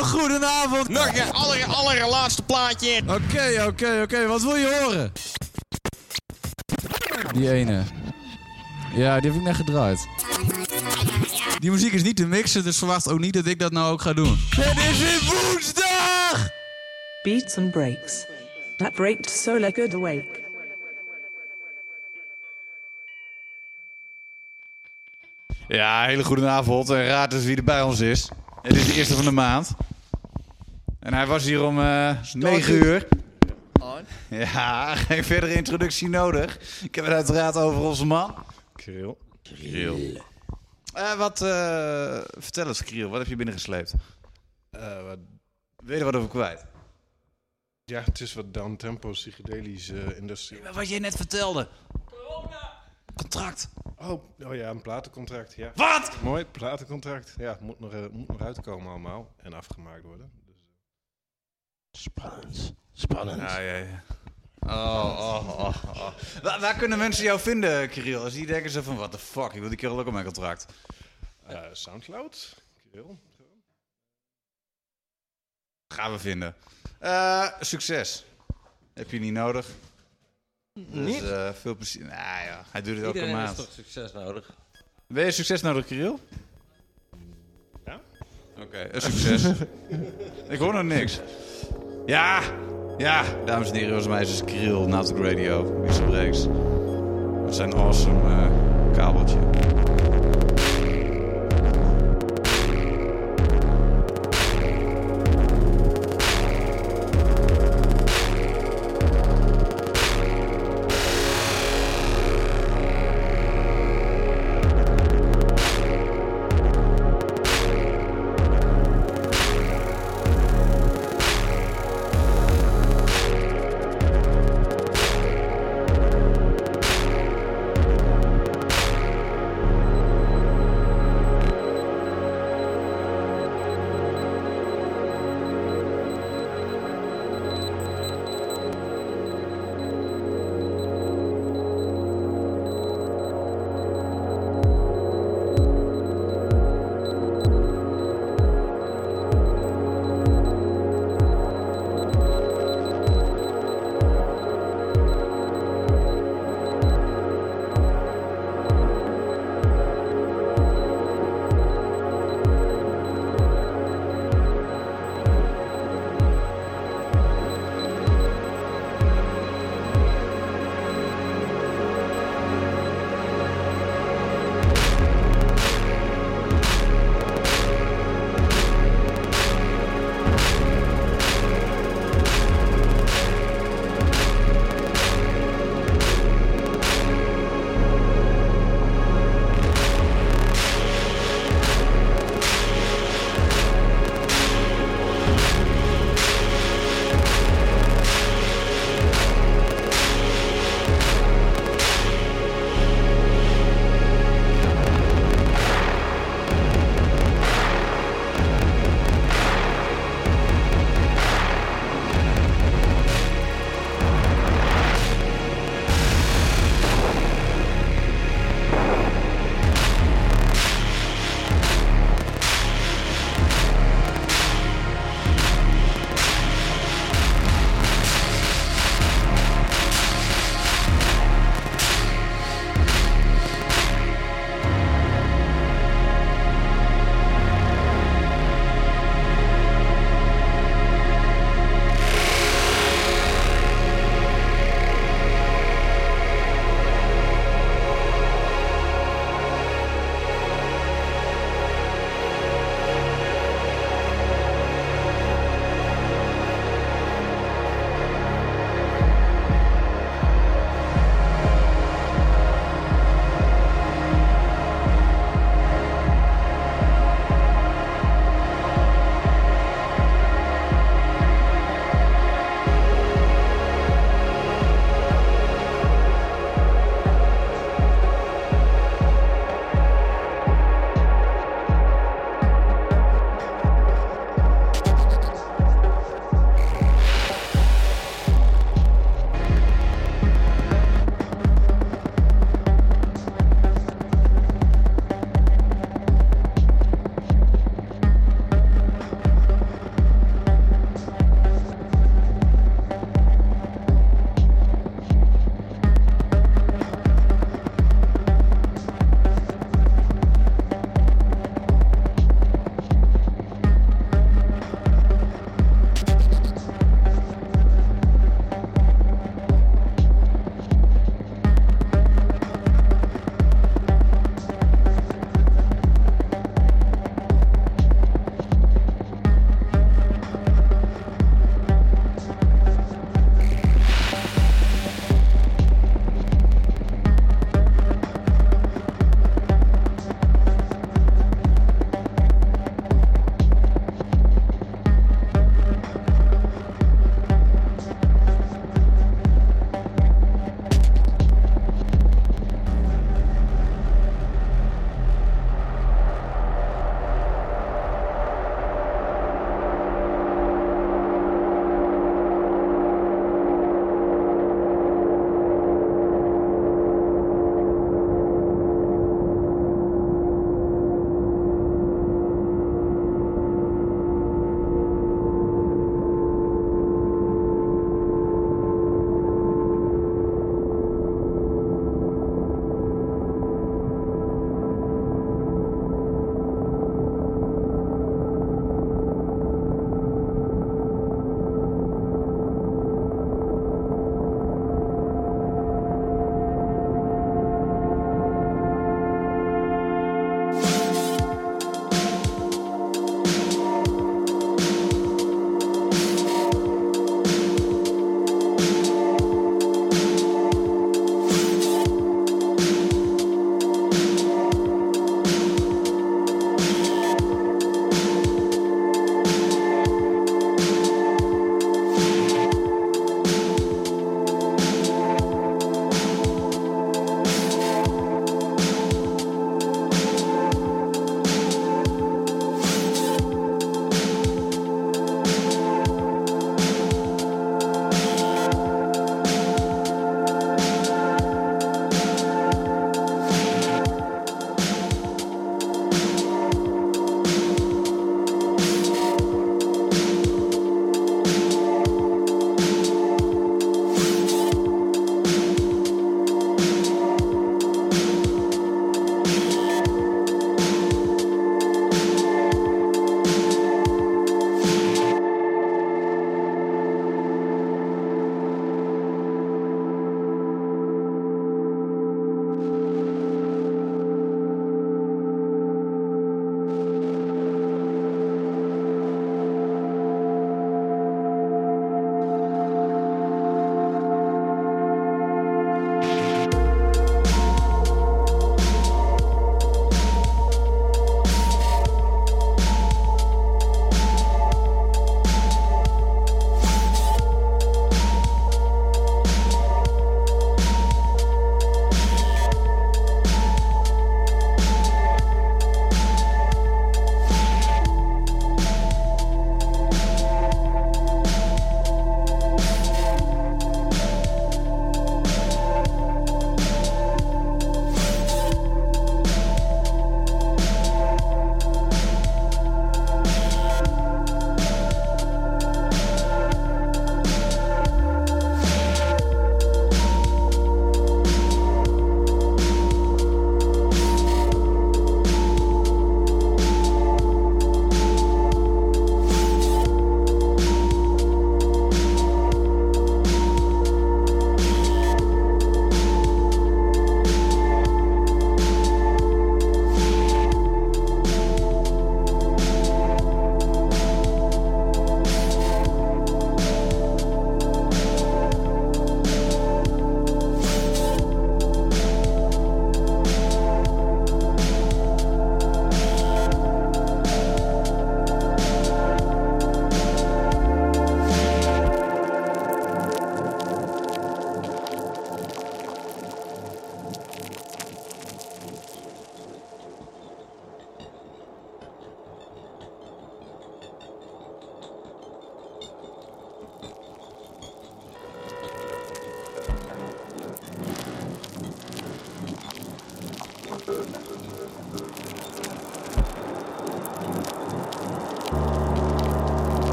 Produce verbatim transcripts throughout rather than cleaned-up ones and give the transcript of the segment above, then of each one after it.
Hele goedenavond. Nog een aller, allerlaatste plaatje. Oké, okay, oké, okay, oké. Okay. Wat wil je horen? Die ene. Ja, die heb ik net gedraaid. Die muziek is niet te mixen, dus verwacht ook niet dat ik dat nou ook ga doen. Het is weer woensdag! Beats and breaks. That breaked so like good awake. Ja, hele goede avond. En raad eens wie er bij ons is. Het is de eerste van de maand. En hij was hier om uh, negen uur. Ja, geen verdere introductie nodig. Ik heb het uiteraard over onze man. Kriel. Kriel. Uh, wat, uh, vertel eens, Kriel. Wat heb je binnengesleept? Uh, wat... Weet je er wat over kwijt? Ja, het is wat downtempo psychedelische uh, industrie. Wat jij net vertelde. Corona. Contract. Oh, oh ja, een platencontract, ja. Wat? Mooi, platencontract. Ja, moet nog, uh, moet nog uitkomen allemaal. En afgemaakt worden. Dus, uh... Spannend. Spannend. Ja, ja, ja. Oh, oh, oh, oh. Waar, waar kunnen mensen jou vinden, Kirill? Als die denken ze van, what the fuck, ik wil die kerel ook op mijn contract. Uh, Soundcloud, Kirill. Gaan we vinden. Uh, succes. Heb je niet nodig. Niet? Dus, uh, veel plezier. Nou ja, hij doet het elke Iedereen maand. heeft toch succes nodig? Ben je succes nodig, Kirill? Ja? Oké, okay, een succes. Ik hoor nog niks. Ja, ja, dames en heren, jongens en meisjes, Kirill, Nautic Radio, Wissel Breaks. Met zijn awesome uh, kabeltje.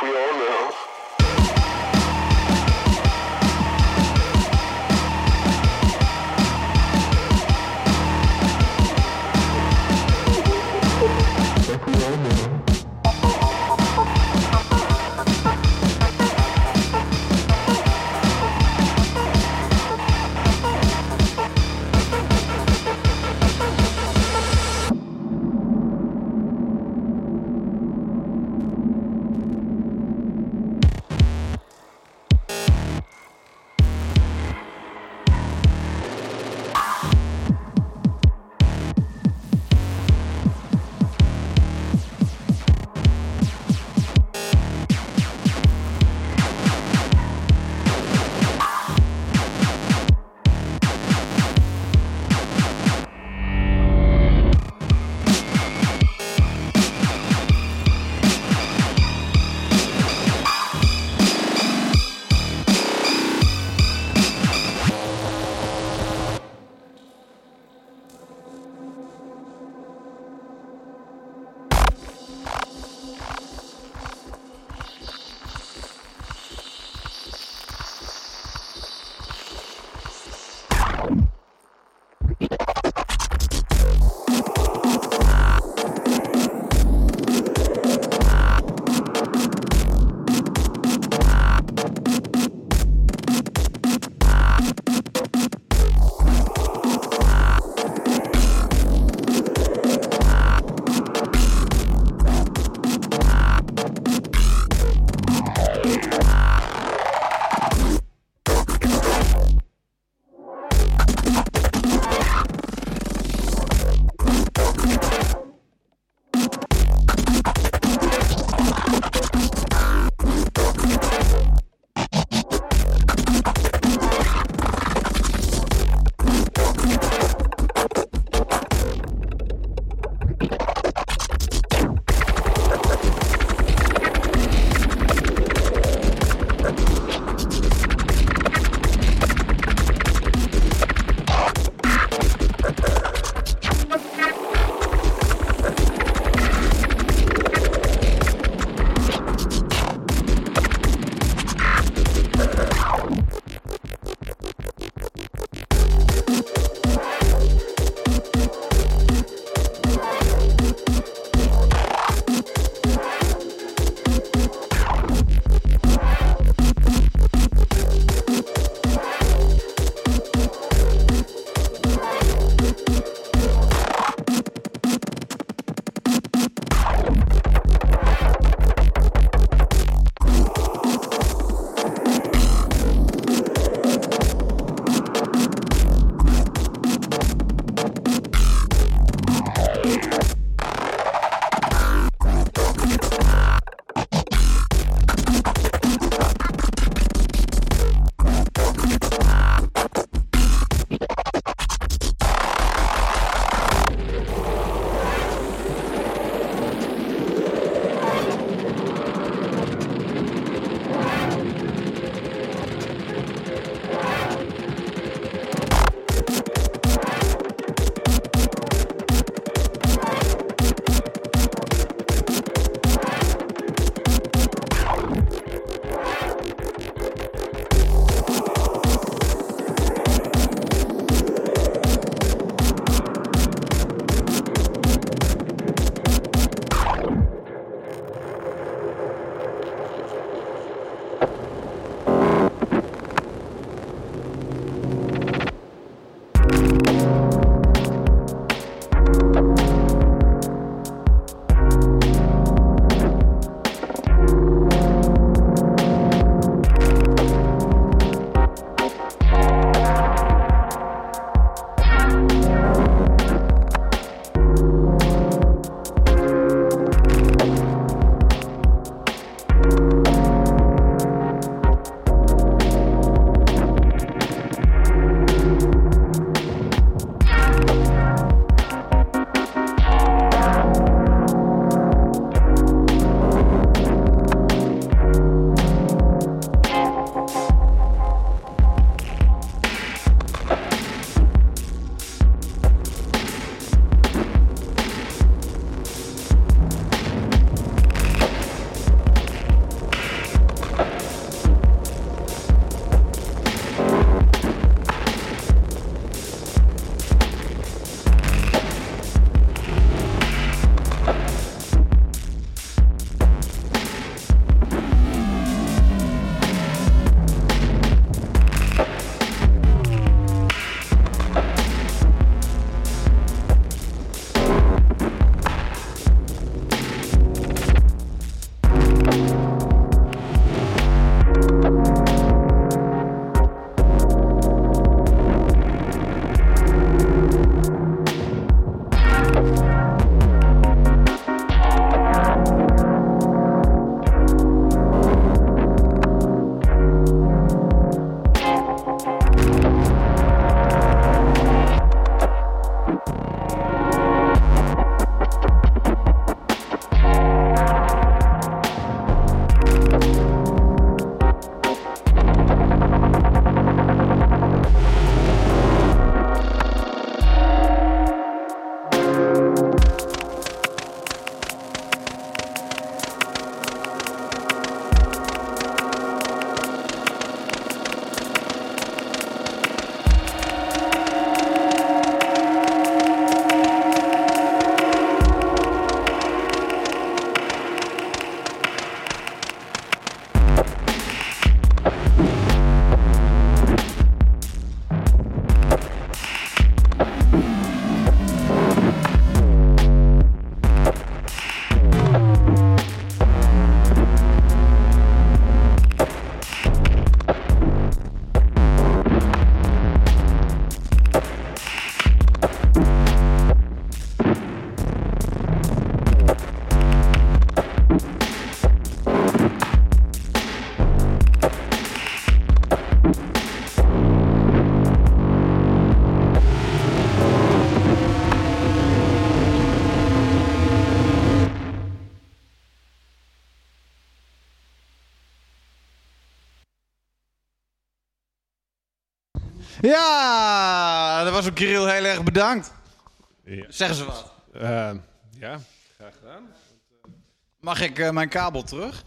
we all know. Ja, dat was ook Kirill heel erg bedankt. Ja. Zeggen ze wat. Uh, ja, graag gedaan. Mag ik uh, mijn kabel terug?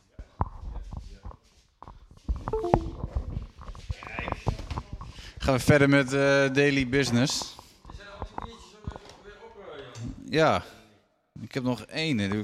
Gaan we verder met uh, Daily Business. Ja, ik heb nog één. Uh,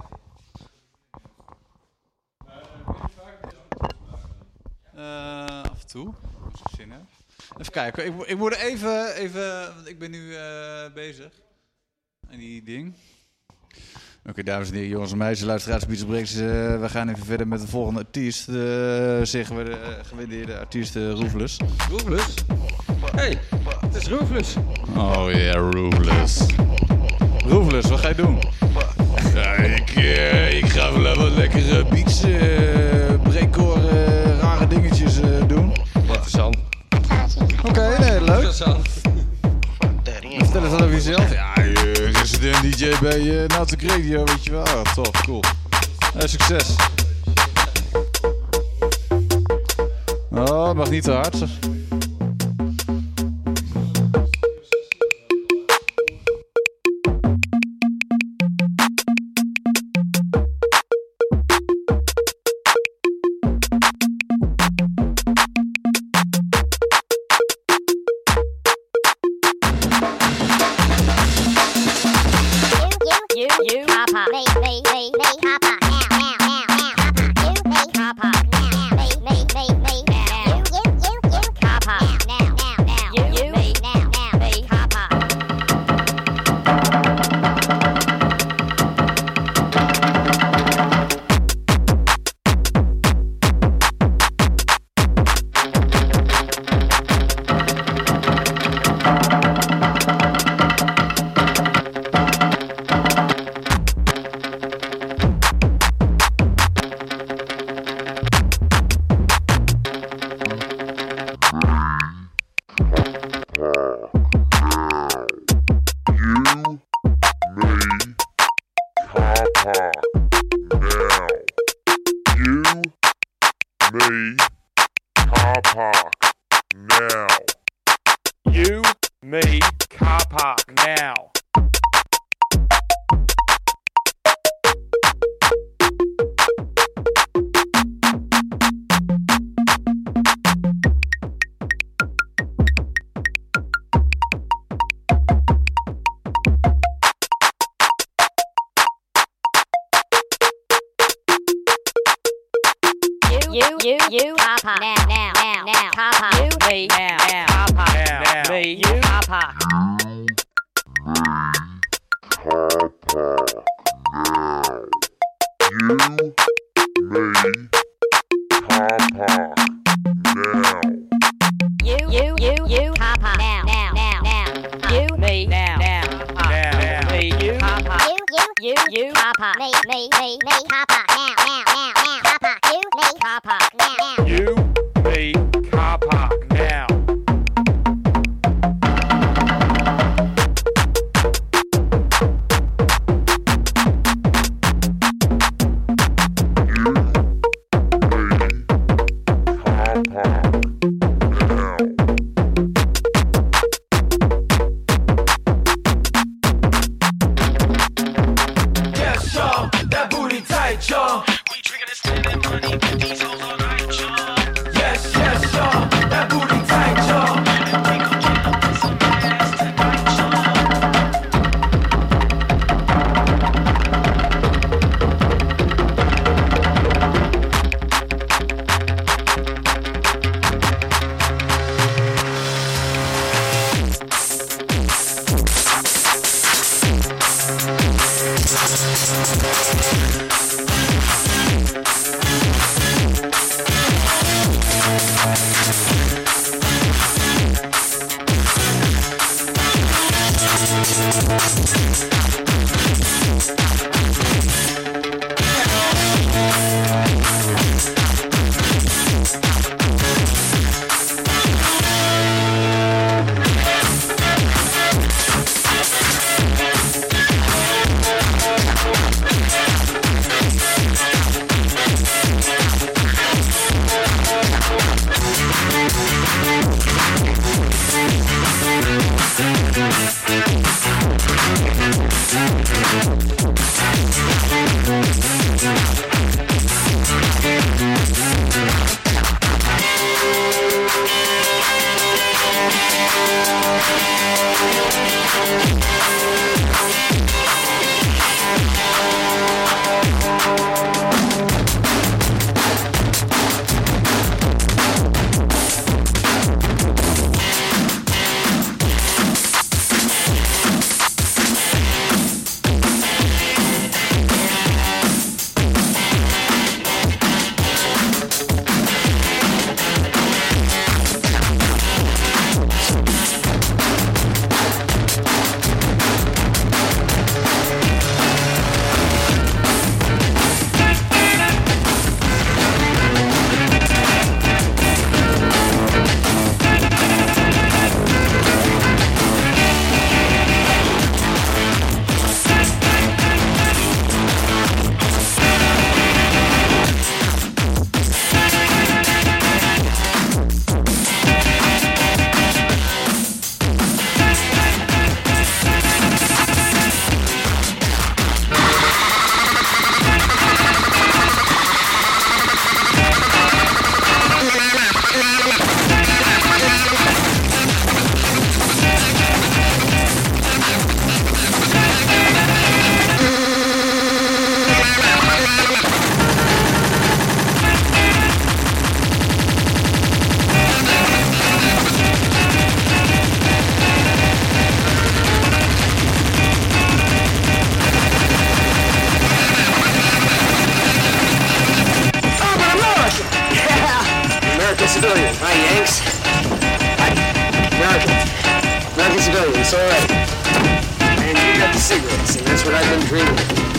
af en toe, als ik zin heb. Even kijken, ik, ik moet even, even, want ik ben nu uh, bezig. En die ding. Oké, okay, dames en heren, jongens en meisjes, luisteraars, Beats Breaks. Uh, we gaan even verder met de volgende artiest. Uh, zeggen we de uh, gewaardeerde artiest uh, Ruthless. Ruthless? Hey, het is Ruthless. Oh ja, yeah, Ruthless. Ruthless, wat ga je doen? Ja, ik, uh, ik ga wel wat lekkere beats, uh, breakcore, uh, rare dingetjes uh, doen. Interessant. Oké, okay, nee, leuk. Interessant. Vertel eens wat over jezelf. Ja, uh, resident D J bij uh, Nautic Radio, weet je wel. Oh, tof, cool. Uh, succes. Oh, het mag niet te hard. You, you, you, Papa, now, now, now, now, Papa, you, me, now, now, Papa, now, now, me, you, Papa. You, you, you, you, Papa, now, now, now, now, you, me, now, now, now, now, me, you, Papa, you, you, you, you, Papa, me, me, me, me, Papa, now, now, now, now, Papa, you, me, Papa, now, now. You, me, car park now. Yes, y'all, that booty tight, y'all. We drinking and spending money with these hoes all night, y'all. Yes, yes, y'all, that booty tight, y'all. And we gon' get up in some ass tonight, y'all. civilian. Hi, Yanks. Hi, American. American civilian, it's all right. And you got the cigarettes, and that's what I've been dreaming of.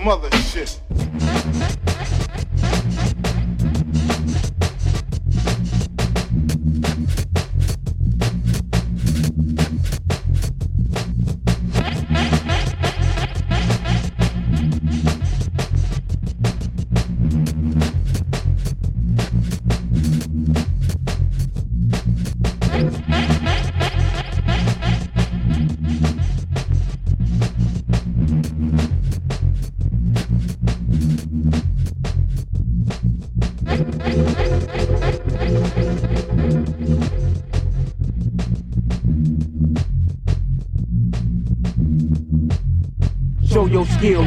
some other shit. Show your skill.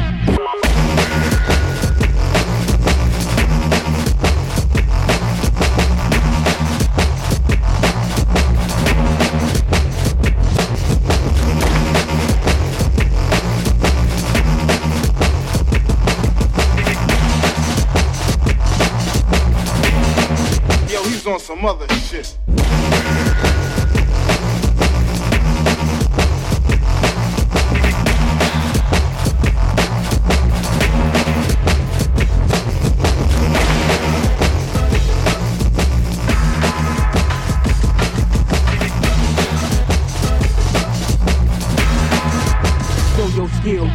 Yo, he's on some other shit. Show your skill.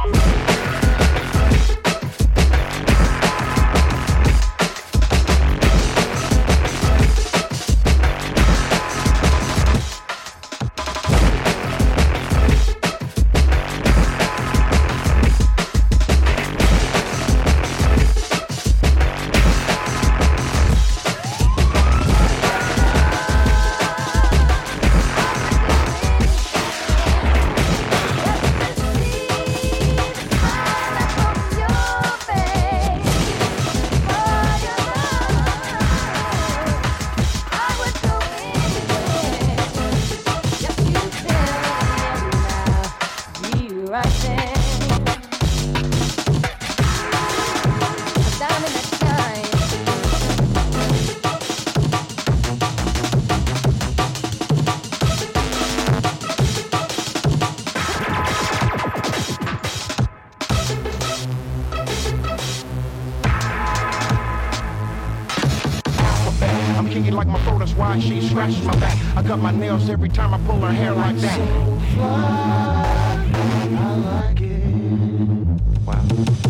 I'm kinky like my throat, that's why she scratches my back. I cut my nails every time I pull her hair like that. So fly, I like it. Wow.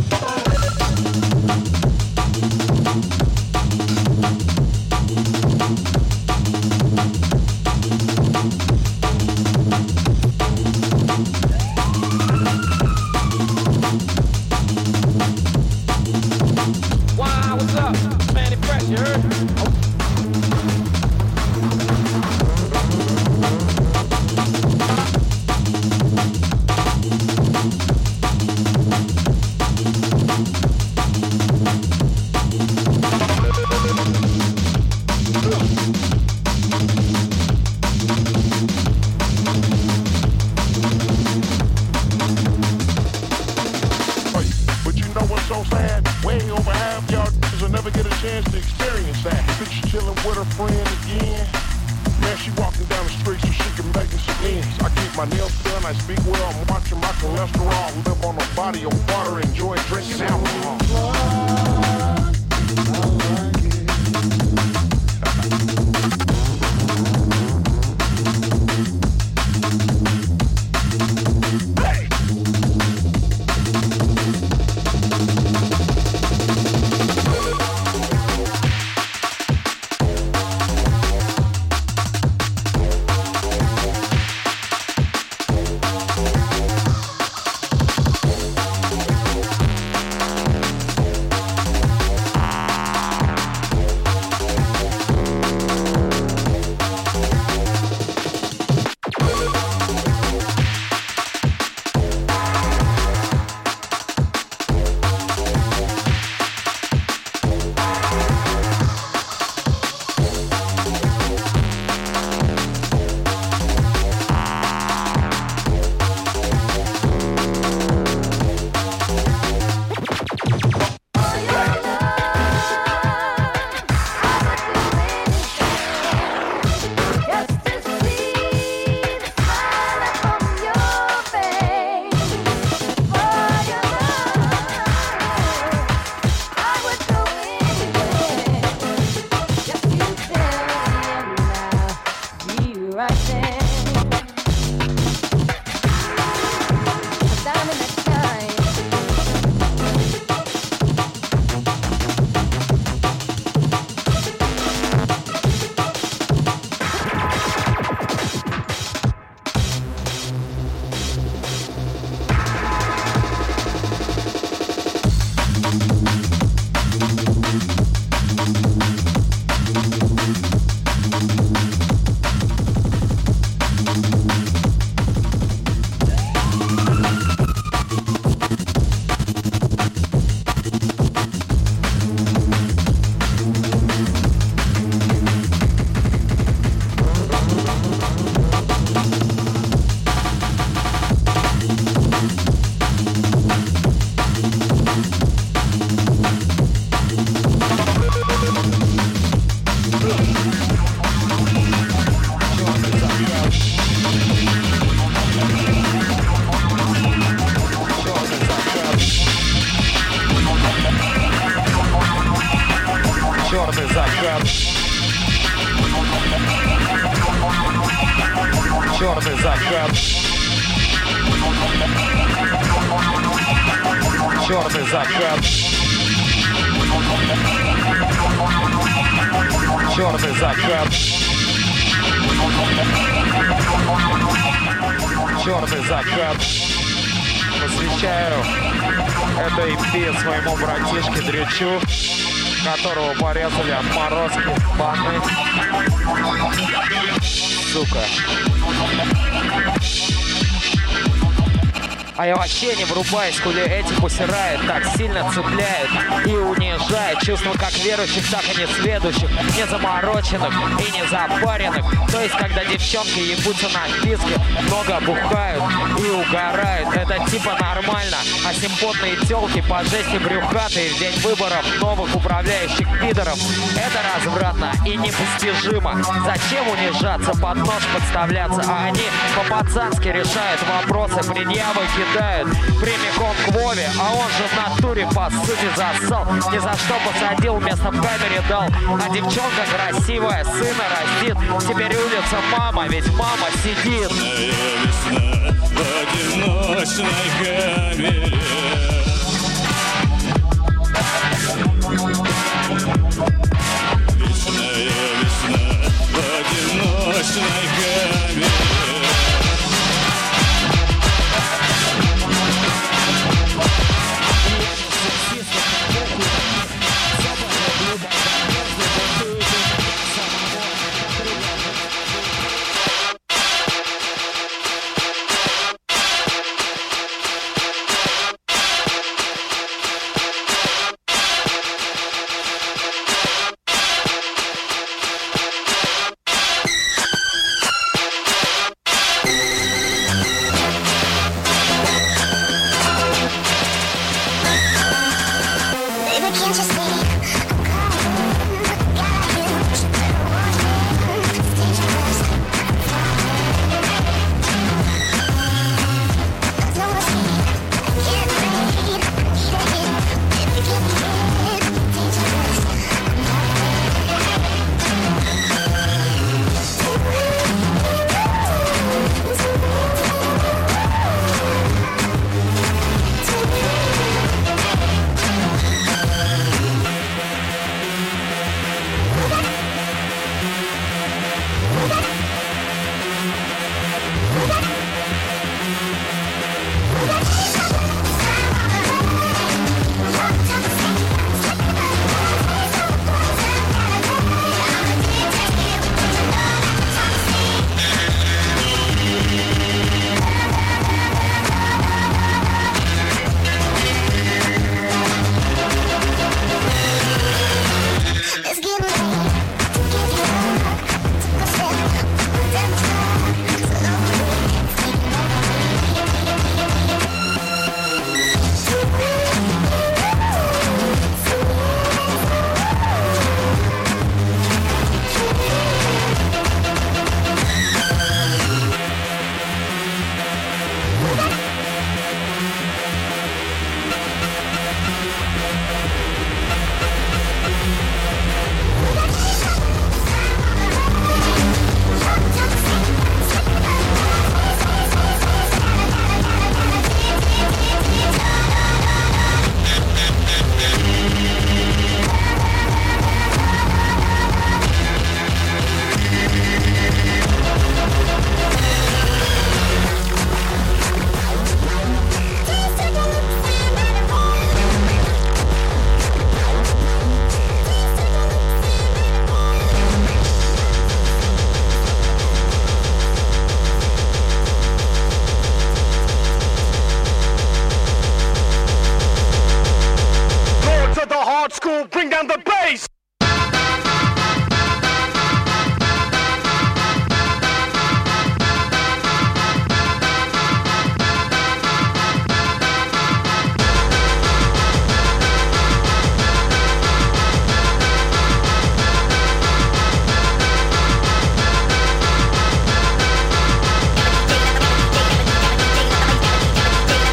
Wow, what's up? Manny Fresh, you heard? Oh. But you know what's so sad? Way over half y'all will never get a chance to experience that. Bitch chilling with her friend again. Man, she walking down the street so she can make me some ends. I keep my nails done, I speak well, I'm watching my cholesterol. Live on a body of water, enjoy drinking alcohol. Черный закат. Черный закат. Черный закат. Черный закат. Черный закат. Посвящаю это и пи своему братишке Дрючу, которого порезали отморозки баны. Сука. А я вообще не врубаюсь, хули эти посирают, так сильно цепляют и унижают. Чувства как верующих, так и несведущих, не замороченных и не запаренных. То есть, когда девчонки ебутся на писке, много бухают и угорают. Это типа нормально, а симпотные тёлки по жести брюхатые в день выборов новых управляющих пидоров. Это развратно и непостижимо. Зачем унижаться, под нож подставляться, а они по-пацански решают вопросы, предъявы кидают прямиком к Вове, а он же в натуре по сути засал. Ни за что посадил, вместо в камере дал. А девчонка красивая, сына растит. Теперь улица мама, ведь мама сидит. Весна в одиночной камере. Вечная весна в одиночной камере. School, bring down the bass!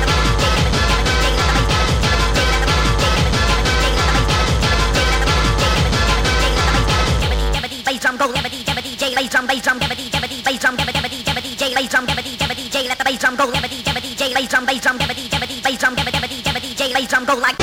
Take bass drum, bass drum, jabba-dee, jabba-dee, bass drum, jabba-dee, jabba-dee, J, bass drum, jabba-dee, jabba-dee, J, let the bass drum go, jabba-dee, jabba-dee, J, bass drum, bass drum, jabba-dee, jabba-dee, bass drum, jabba-dee, jabba-dee, J, bass drum go like.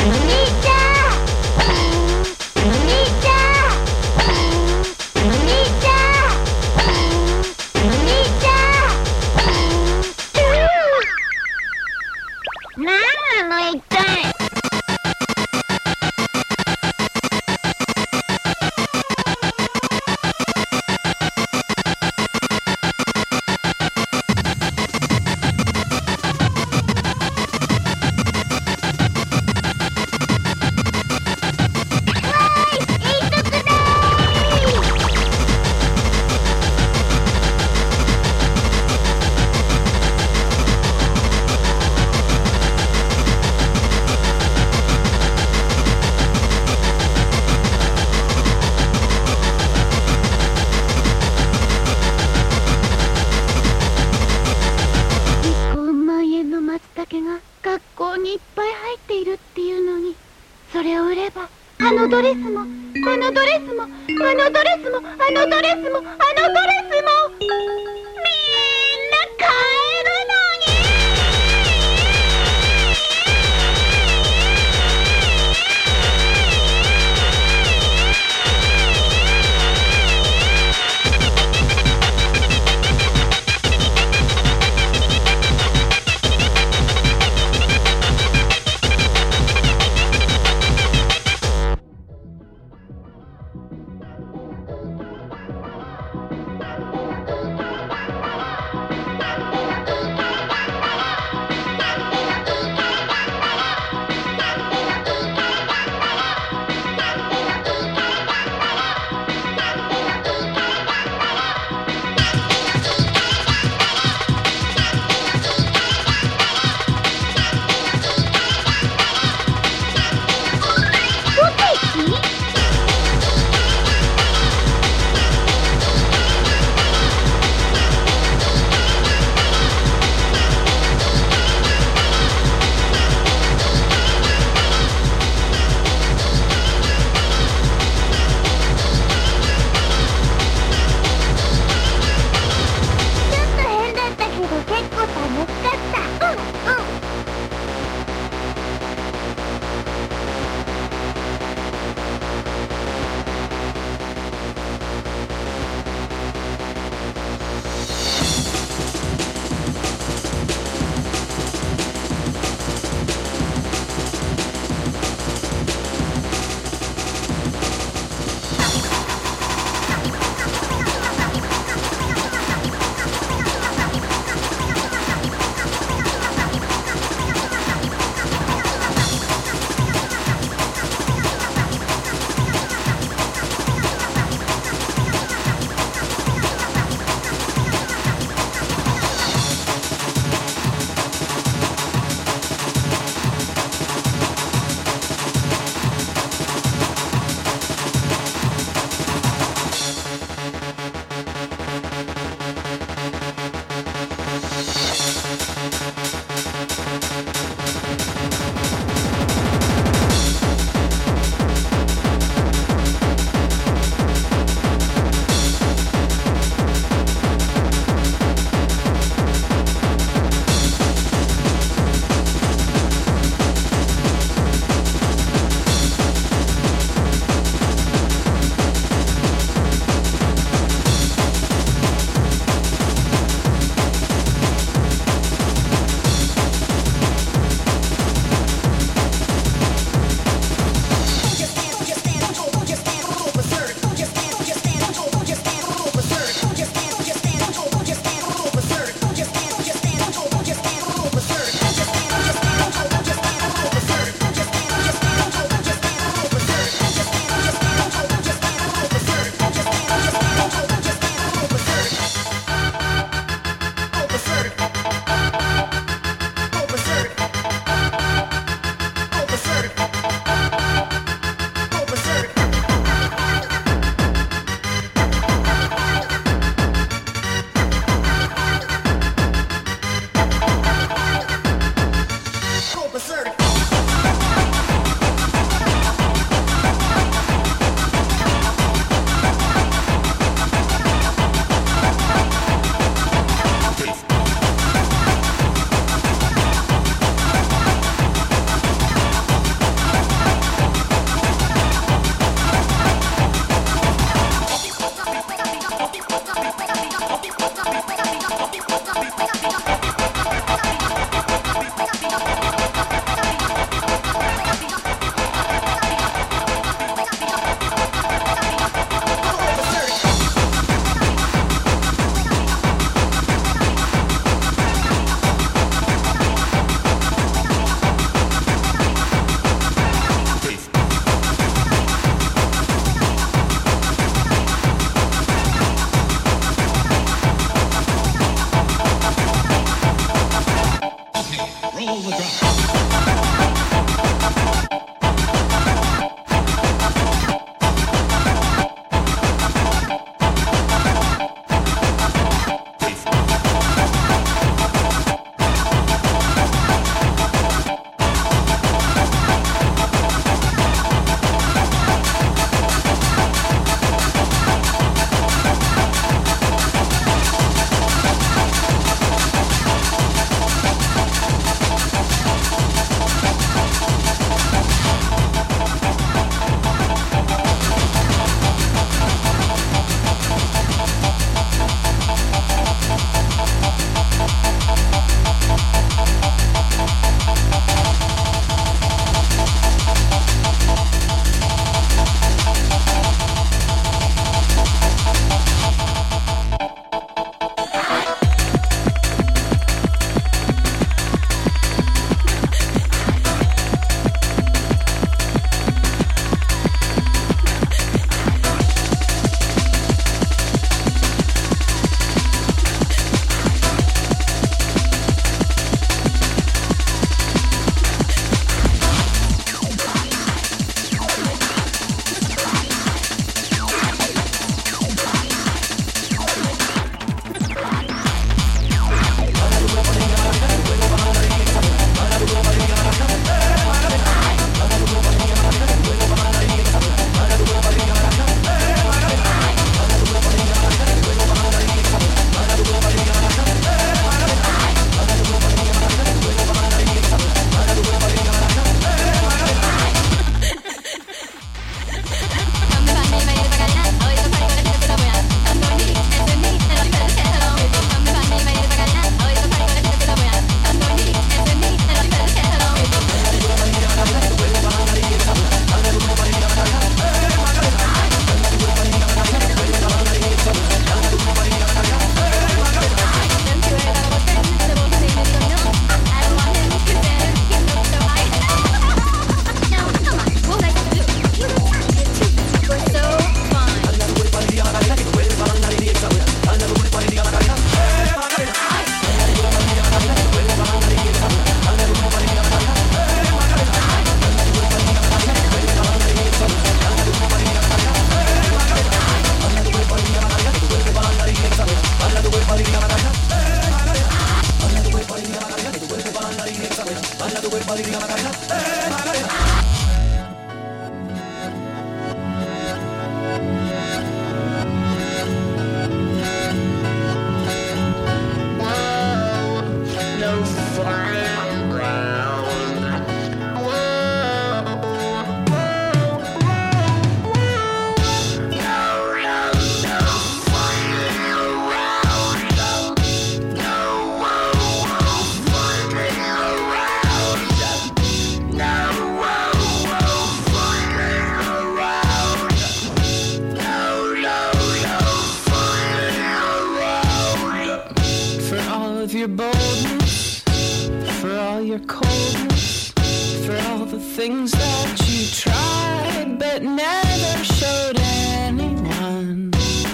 your boldness, for all your coldness, for all the things that you tried but never showed anyone.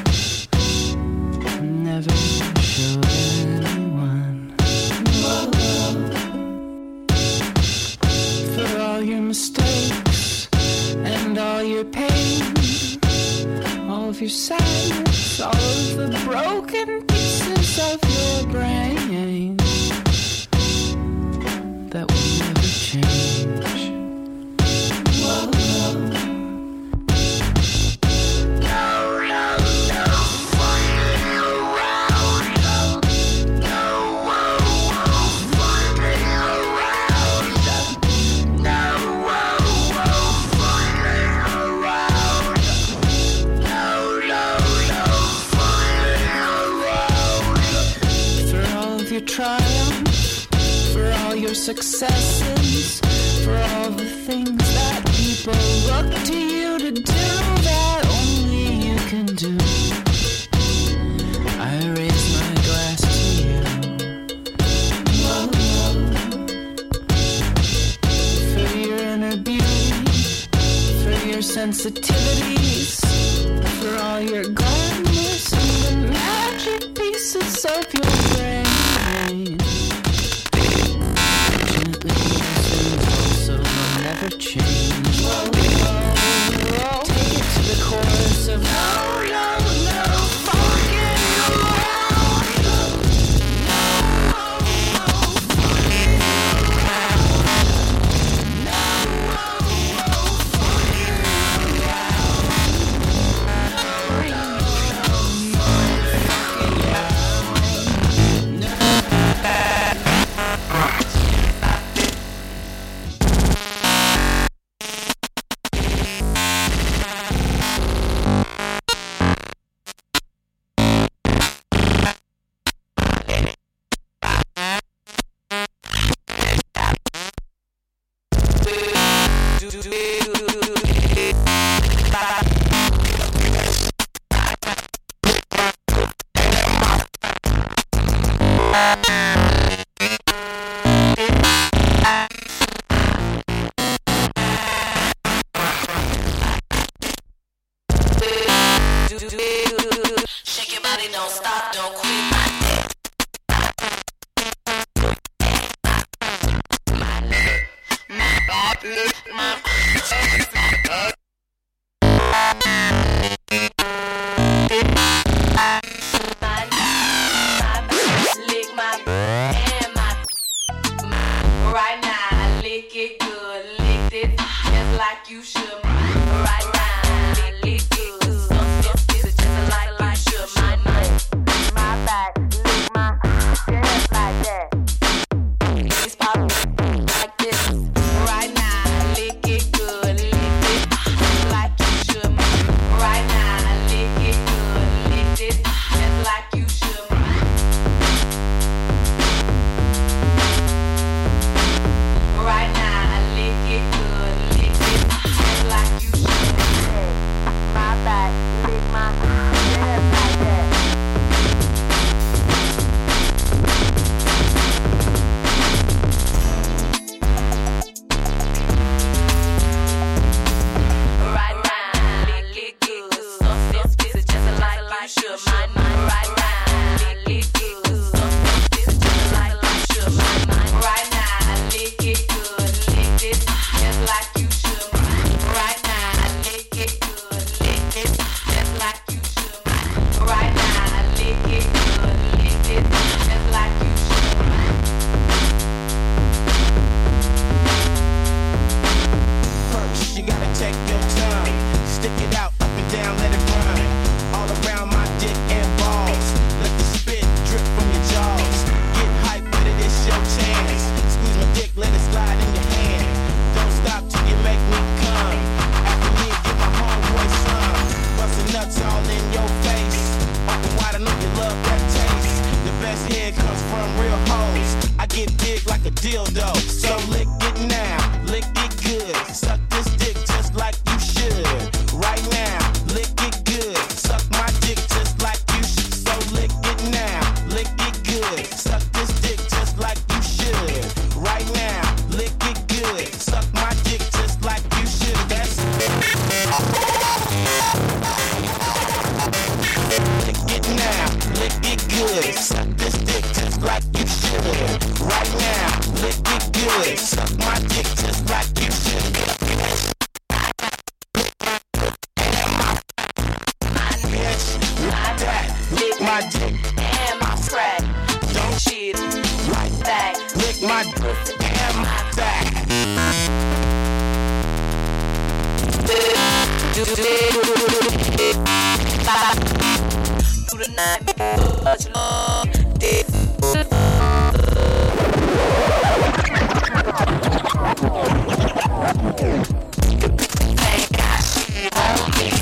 Never showed anyone. For all your mistakes and all your pain, all of your sadness, all of the broken pieces of your brain that will never change. Whoa, whoa. Triumph, for all your successes, for all the things that people look to you to do that only you can do. I raise my glass to you. Whoa, whoa. For your inner beauty, for your sensitivities, for all your glamorous and the magic pieces of your brain. Gently also will never change. Whoa, whoa, whoa. Take it to the chorus of no, no, no, fucking around. No, no, no, fucking around. No, no, no, fucking around. No, no, no, fucking around. No. Shake your body, don't stop, don't quit. Lick my and my right now, lick it good, lick it just like you should. Right now, lick it good, so just just like you should. My my back, lick my just like that. It's pop like this. Right now, lick it good, lick it just like you should. Right now, lick it good, lick it just like you should. Right now, lick it good, lick it just like you should. My back, lick my just like that. Right now, lick it good, so this is just like you should. My right now, lick it good, so this is just like you should. Right now, lick it good, lick it just like you should. Right now, lick it good, lick it just like you should. Right now, lick it good, lick it just like you should. First, you gotta take your time. Stick it out, up and down, let it run. All around my dick and balls. Let the spit drip from your jaws. Get hype with it, it's your chance. Squeeze my dick, let it slide in your hand. Don't stop till you make me come. After me, get my homeboy some. Bustin' nuts all in your face. Open wide, I know you love that taste. The best head comes from real hoes. I get big like a dildo. So lick it now, lick it good. Suck this dick just like you should. Right now, lick it good. Suck my dick just like you should. So lick it now, lick it good. Suck this dick my dick and my crack. Don't cheat, right back. Lick my dick and my back. Through the night, much love. Ain't got shit on me.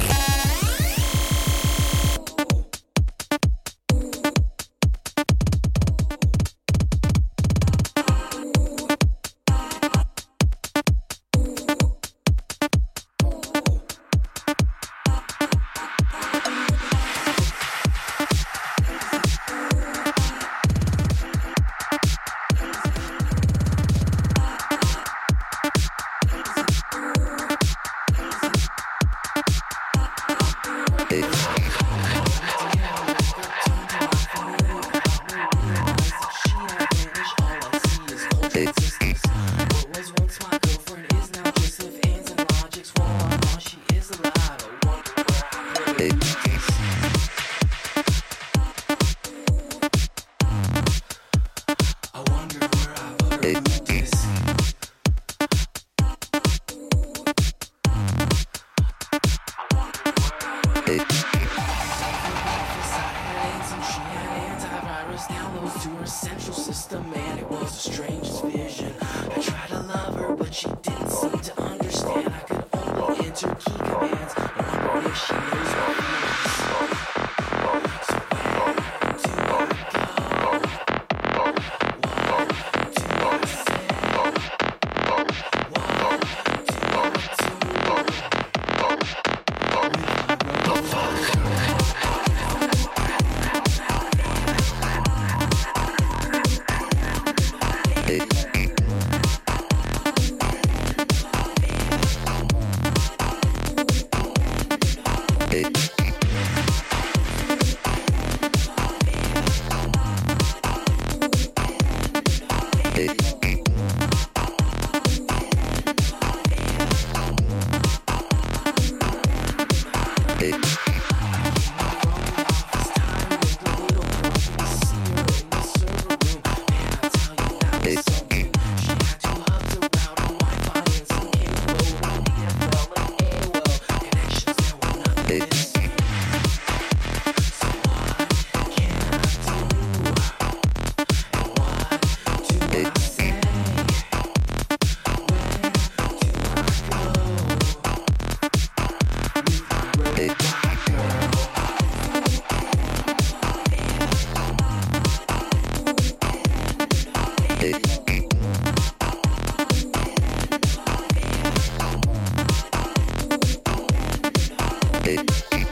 Hey.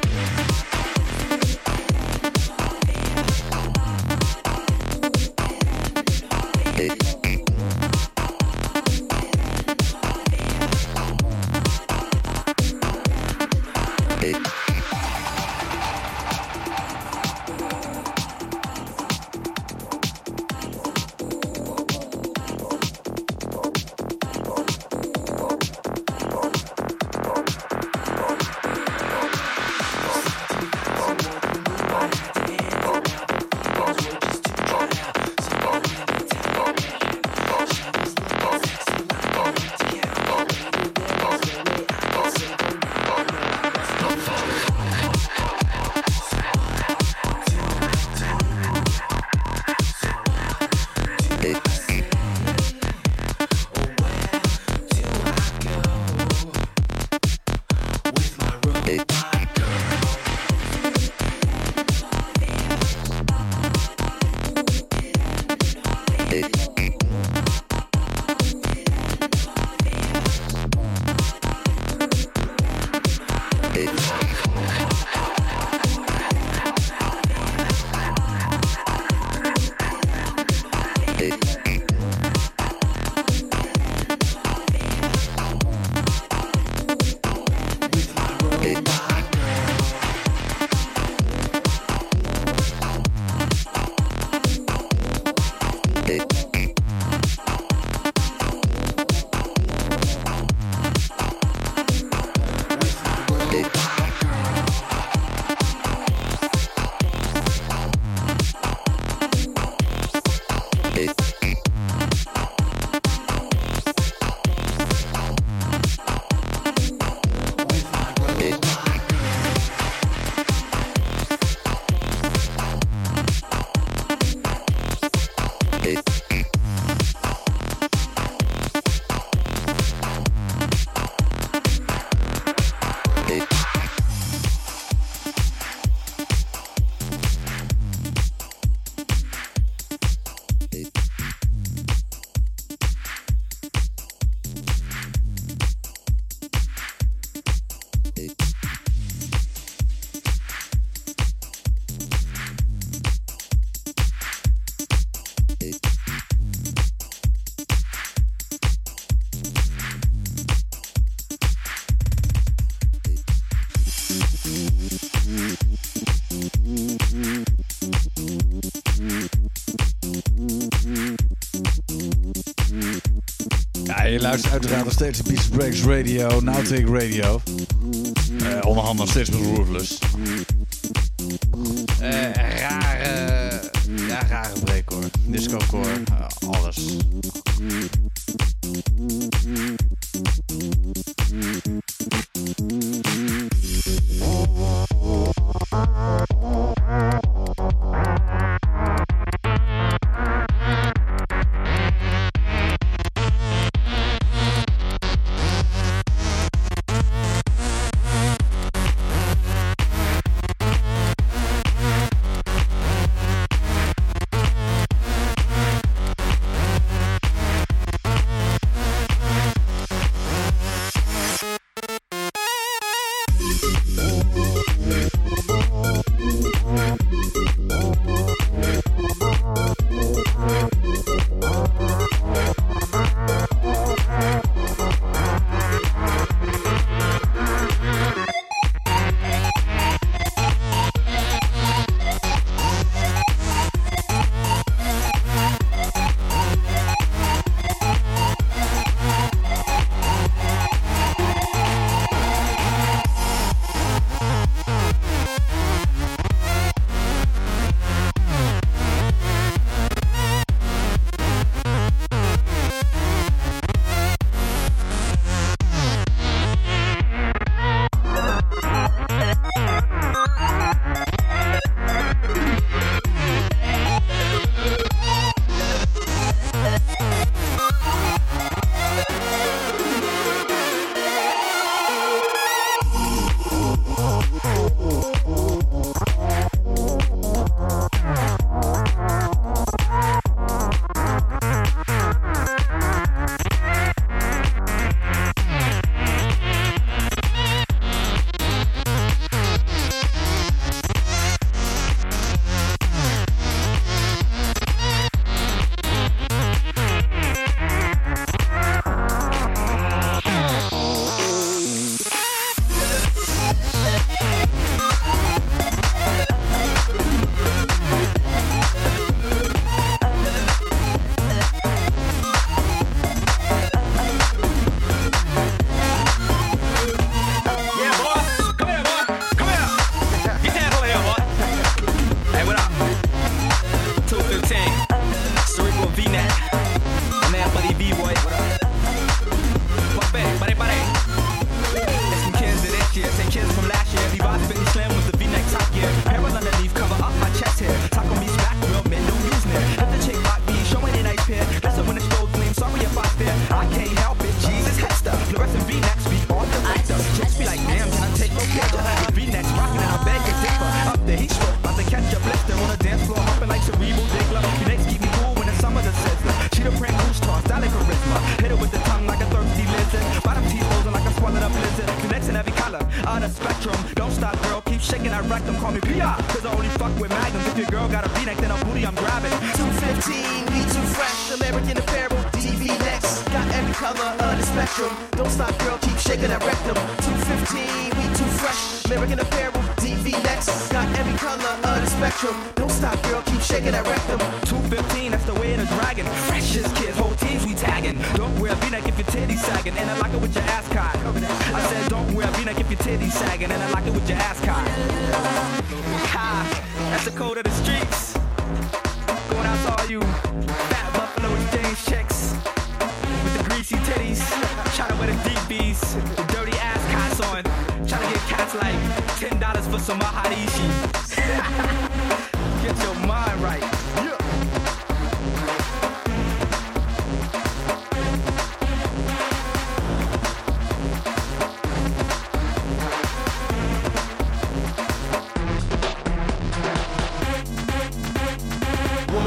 Ja, je luistert uiteraard nog steeds de Beats Breaks Radio, Nowtake Radio. Uh, onderhand nog steeds met Ruthless. Uh, rare, ja, rare break hoor. Disco-core, uh, alles.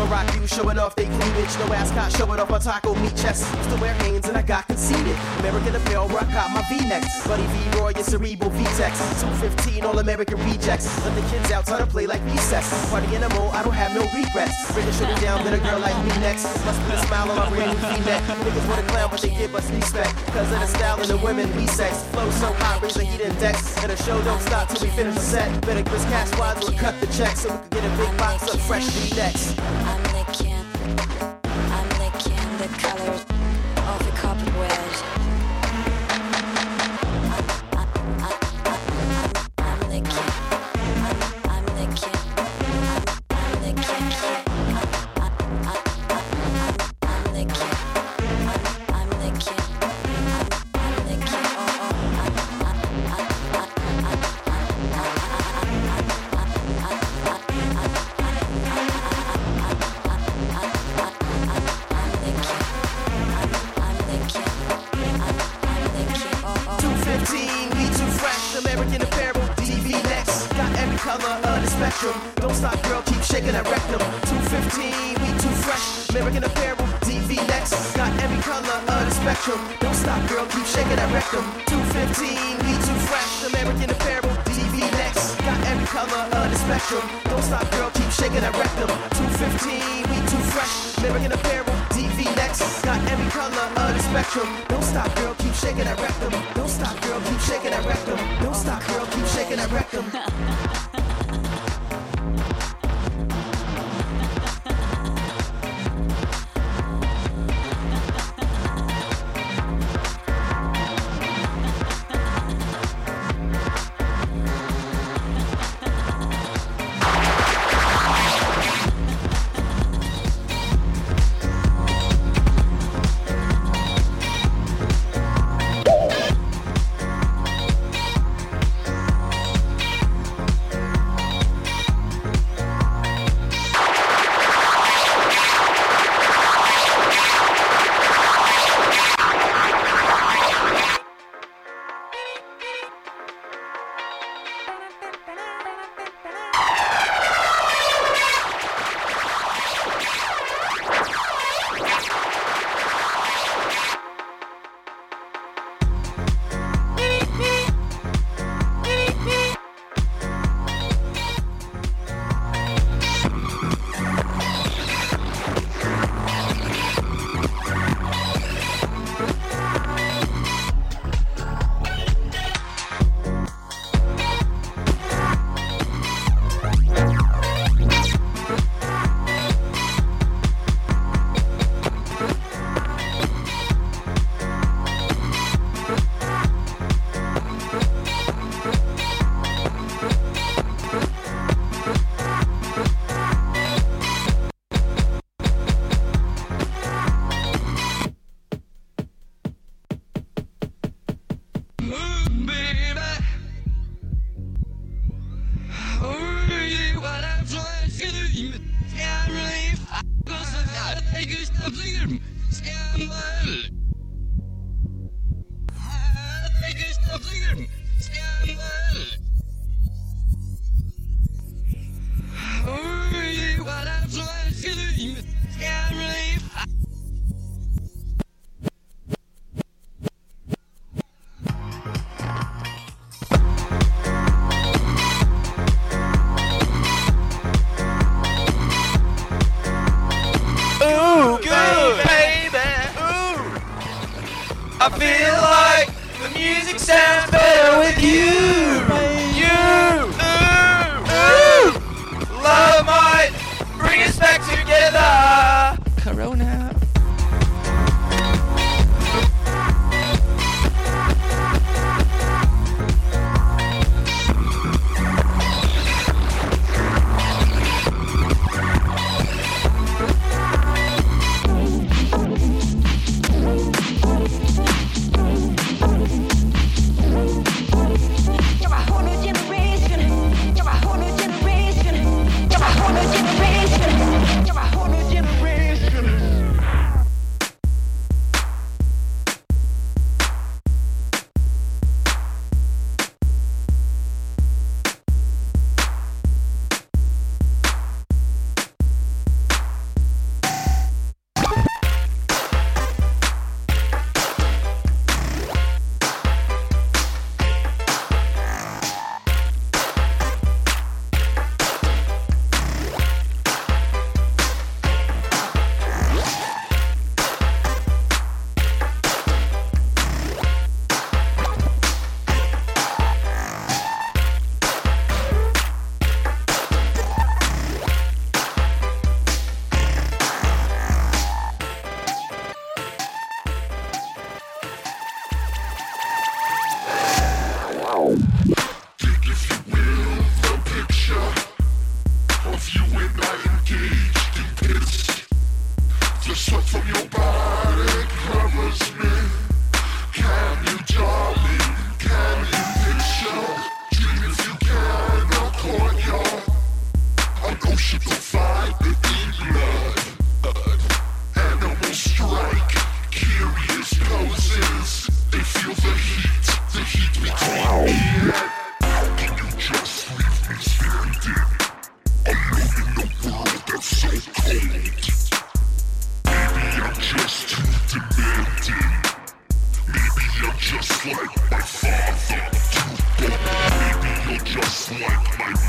rock you showing off they cleavage. No ascot showing off my taco meat chest. Used to wear Hanes and I got conceited. American Apparel where I got my V-necks. Buddy V-Roy and Cerebral V-Tex. two fifteen All-American rejects. Let the kids out try to play like recess. Party animal, I don't have no regrets. Bring a shoulder down, let a girl like me next. Must put a smile on my brand new V-neck. Niggas wanna clown but they give us respect. Cause of the style and the women we sex. Flow so hot, raise the heat index. And the show don't stop till we finish the set. Better Chris Cash Wads will cut the check so we can get a big box of fresh V-necks. I'm licking, I'm licking the colors of the copperwood. I'm licking, I'm licking, I'm licking, I'm licking, I'm licking, I'm licking, two fifteen, we too fresh. American Apparel, T V next. Got every color of the spectrum. Don't stop, girl, keep shaking that rectum. two fifteen, we too fresh. American Apparel, T V next. Got every color of the spectrum. Don't stop, girl, keep shaking that rectum. two fifteen, we too fresh. American Apparel, T V next. Got every color of the spectrum. Don't stop, girl, keep shaking that rectum. two fifteen, we too fresh. American Apparel, T V next. Got every color of the spectrum. Don't stop, girl, keep shaking that rectum. Don't stop, girl, keep shaking that rectum. Don't stop, girl, keep shaking that rectum. I feel like the music sounds better with you. You, ooh, ooh. Love might bring us back together. Corona.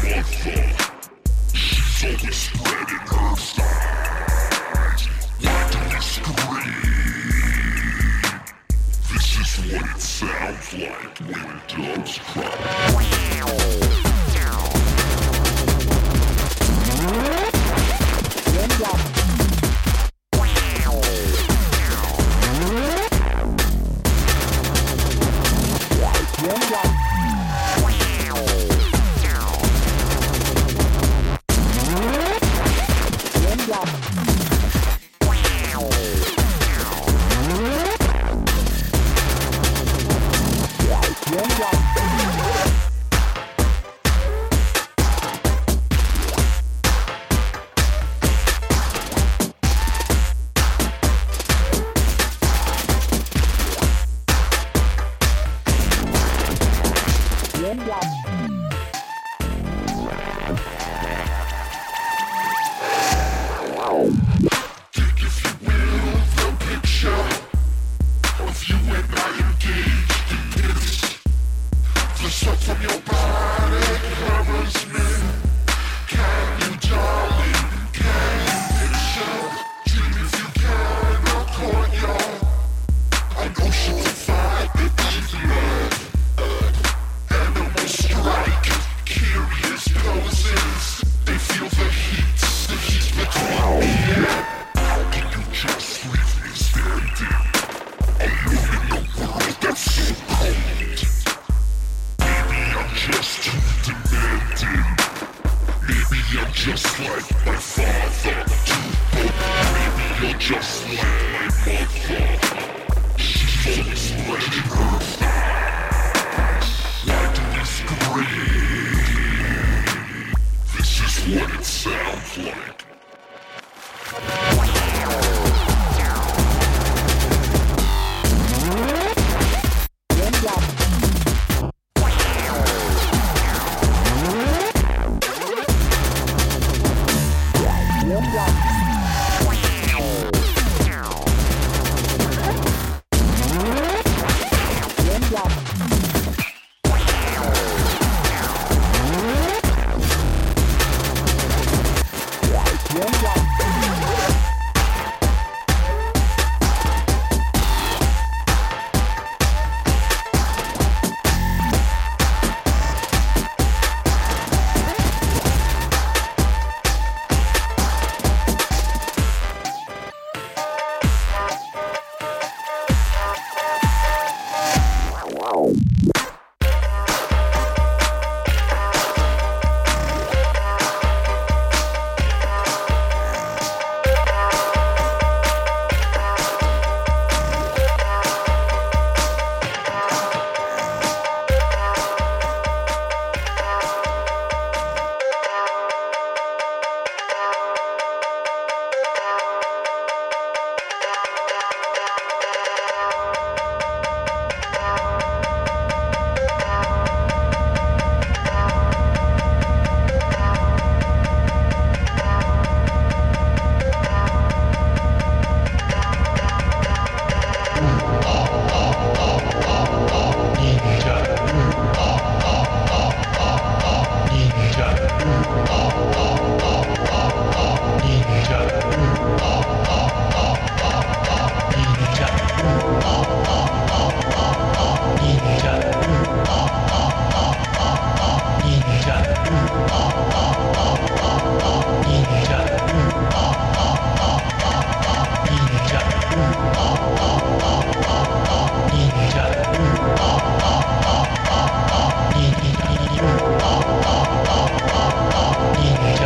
Ninja.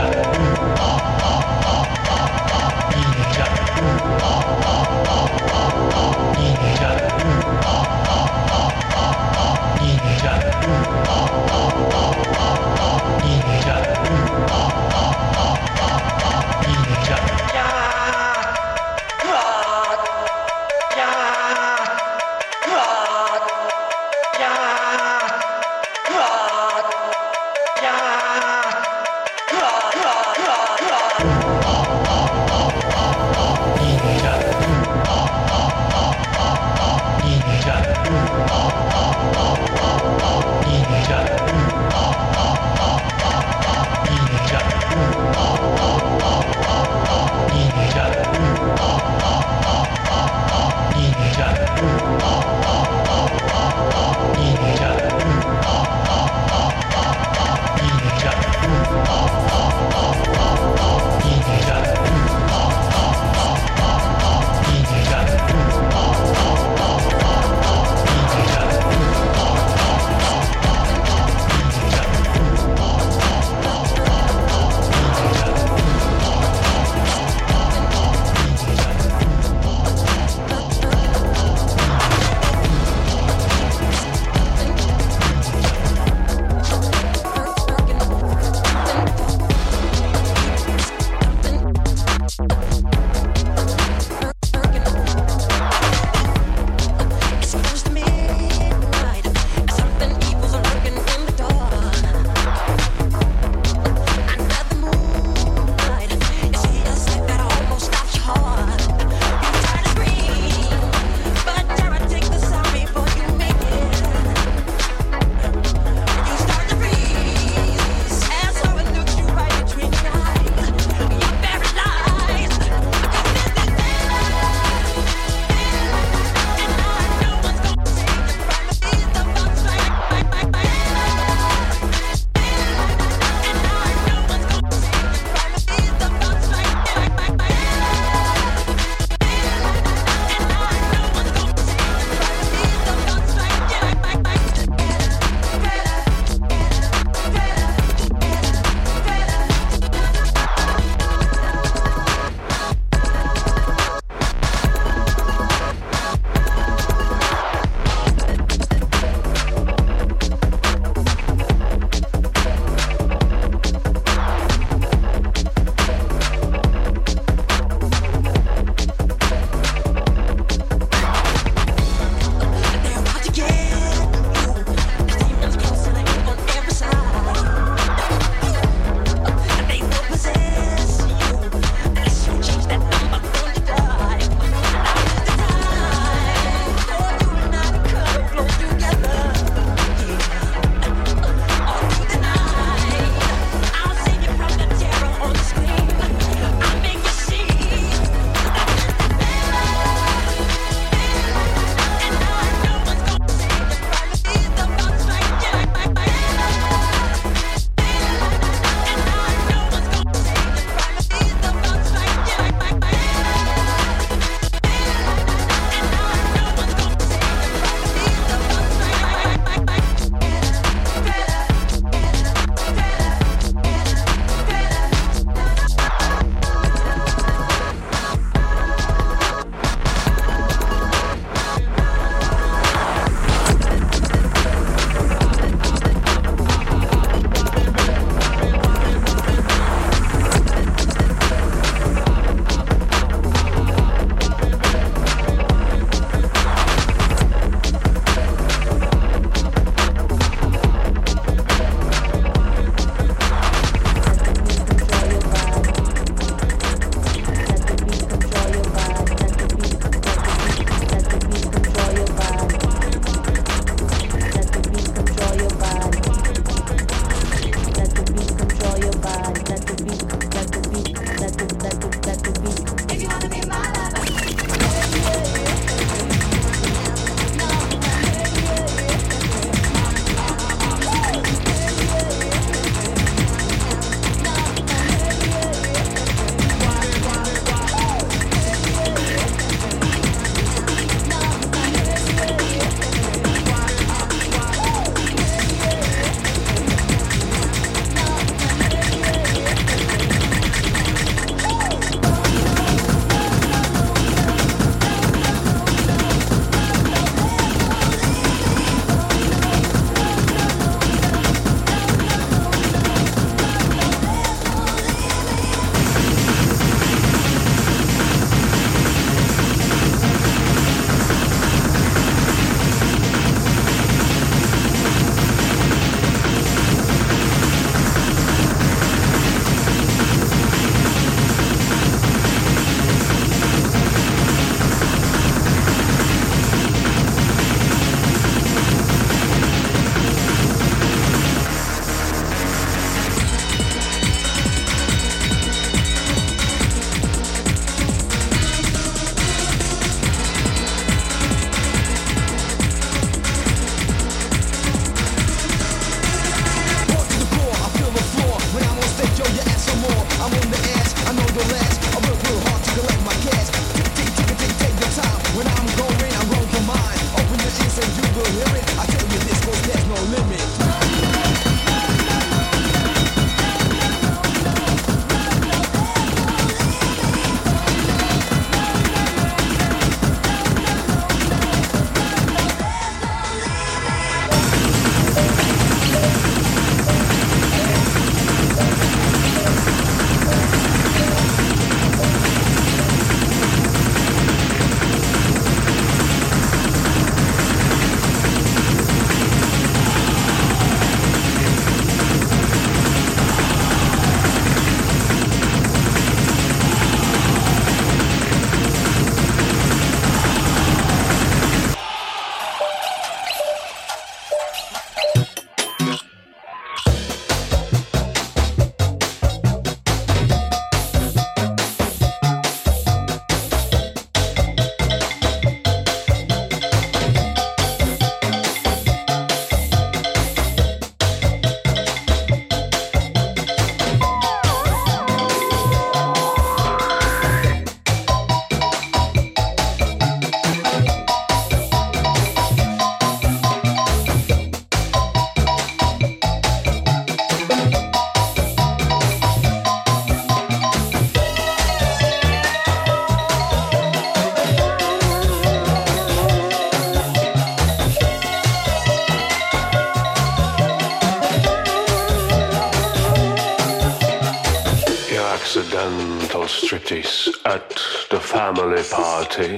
accidental striptease at the family party.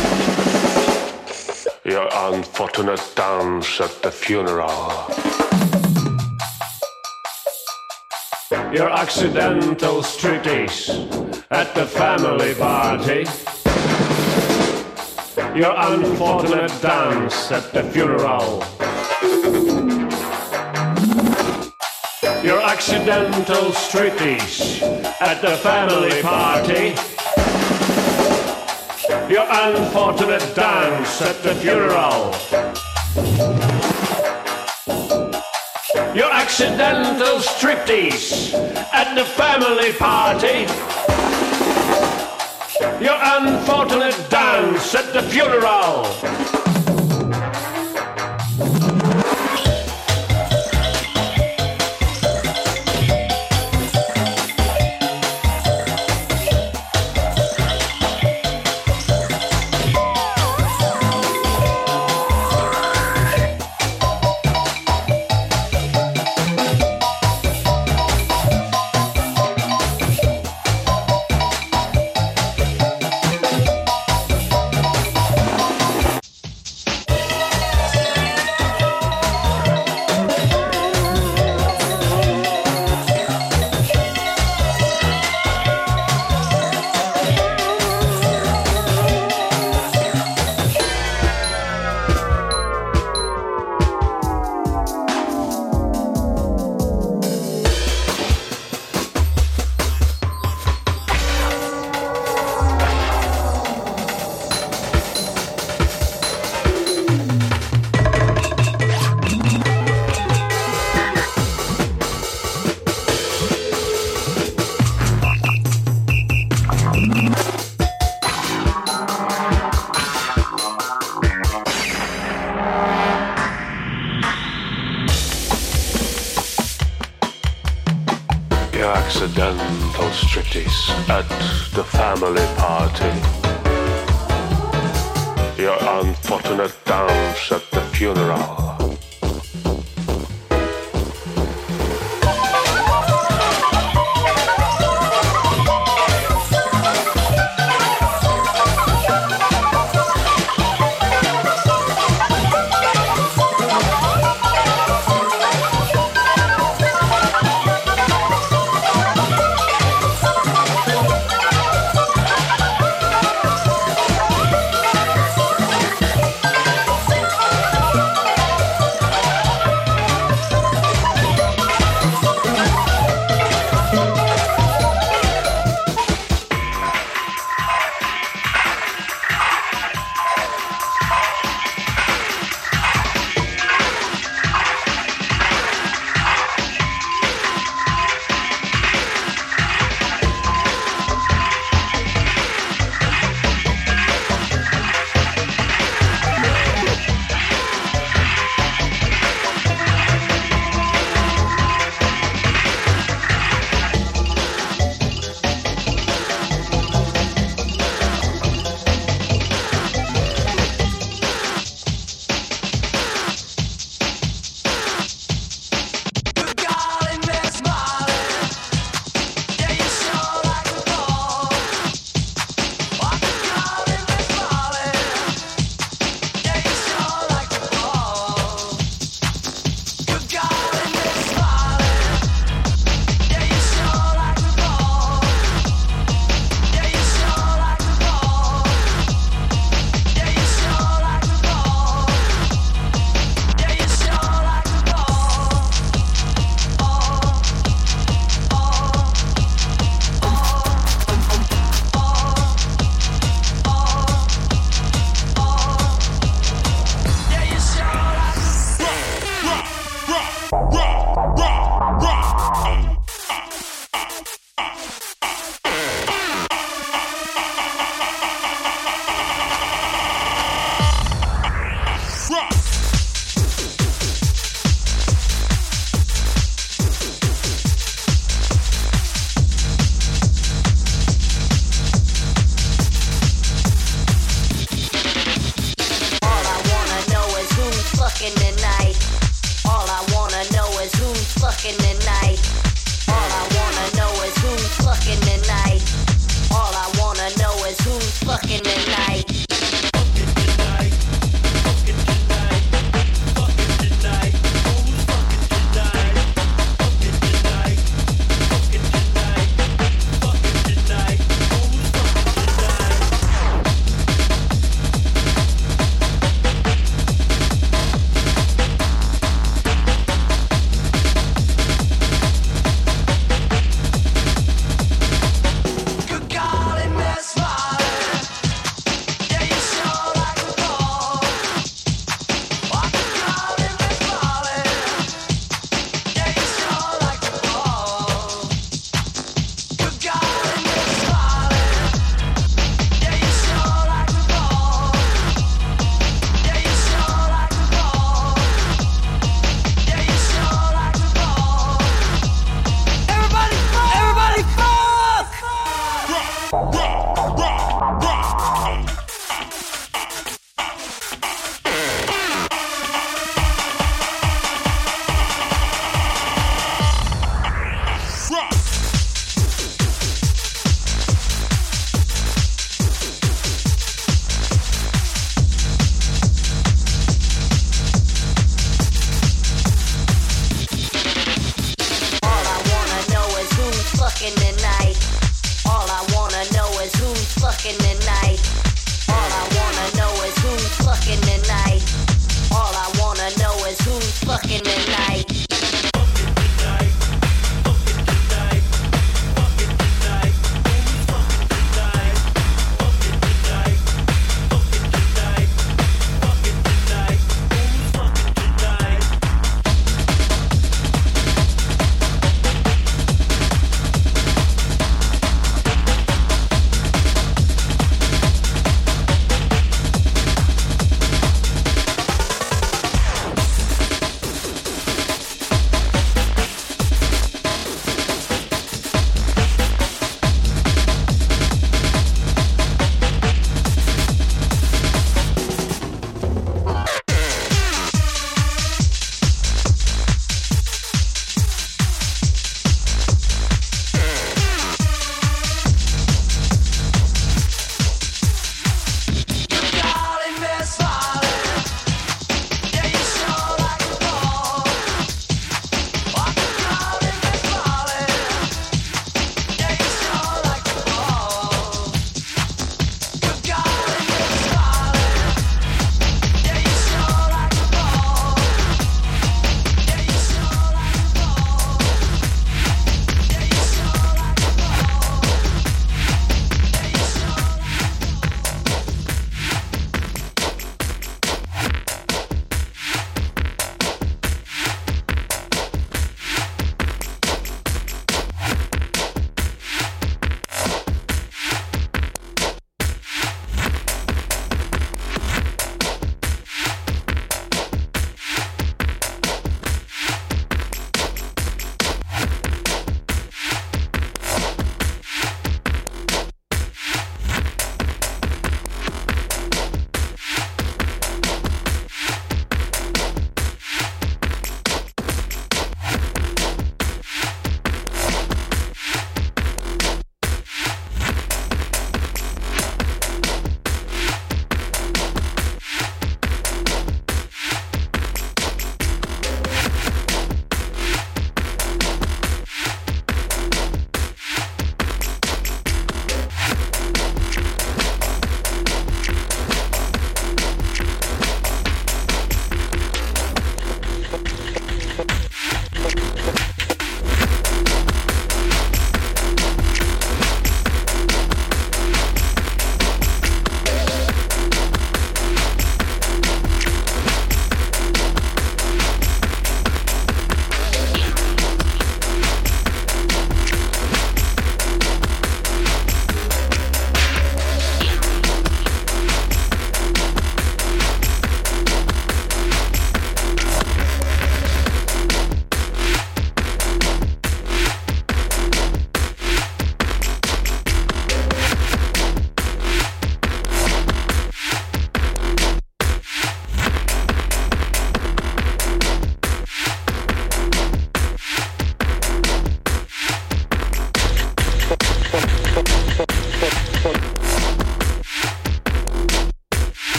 Your unfortunate dance at the funeral. Your accidental striptease at the family party. Your unfortunate dance at the funeral. Your accidental striptease at the family party. Your unfortunate dance at the funeral. Your accidental striptease at the family party. Your unfortunate dance at the funeral. Accidental striptease at the family party. Your unfortunate dance at the funeral.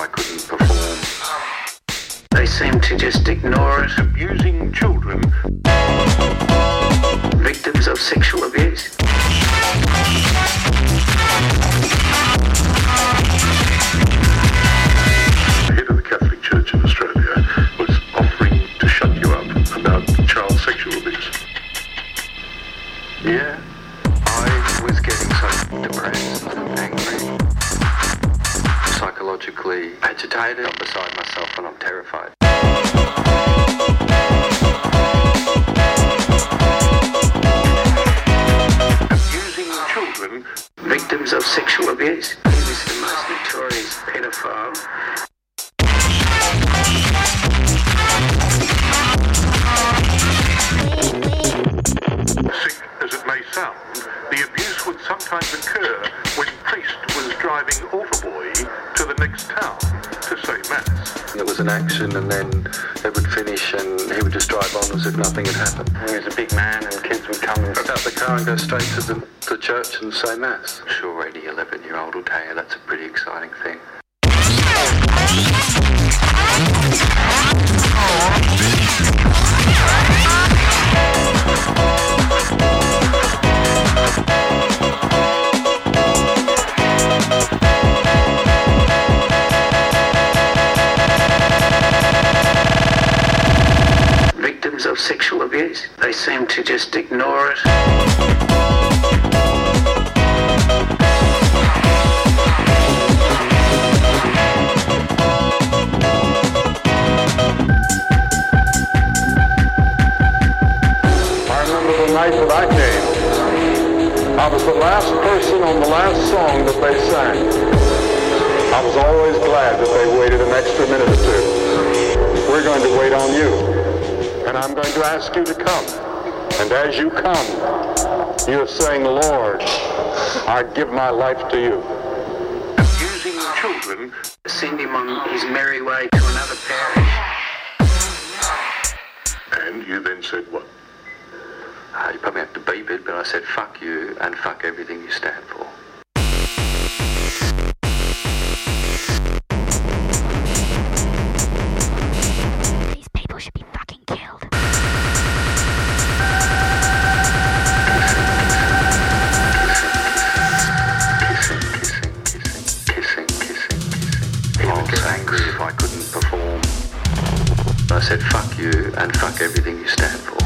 couldn't perform. They seem to just ignore it. Abusing children. Victims of sexual abuse. The head of the Catholic Church in Australia was offering to shut you up about child sexual abuse. Yeah, I was getting so depressed and angry, psychologically agitated. I'm beside myself and I'm terrified. Abusing children. Victims of sexual abuse. He was the most notorious pedophile. Sick as it may sound, the abuse would sometimes occur when priest was driving Altarboy to the next town to say mass. There was an action and then they would finish and he would just drive on as if nothing had happened. He was a big man and kids would come and start the car and go straight to the, the church and say mass. I'm sure any eleven year old will tell you that's a pretty exciting thing. Victims of sexual abuse. They seem to just ignore it. I remember the night that I came. I was the last person on the last song that they sang. I was always glad that they waited an extra minute or two. We're going to wait on you. And I'm going to ask you to come. And as you come, you're saying, Lord, I give my life to you. Abusing children. Send him on his merry way to another parish. And you then said what? Uh, you probably have to beep it, but I said fuck you and fuck everything you stand for. These people should be fucking killed. Kissing, kissing, kissing. He would get angry if I couldn't perform. I said fuck you and fuck everything you stand for.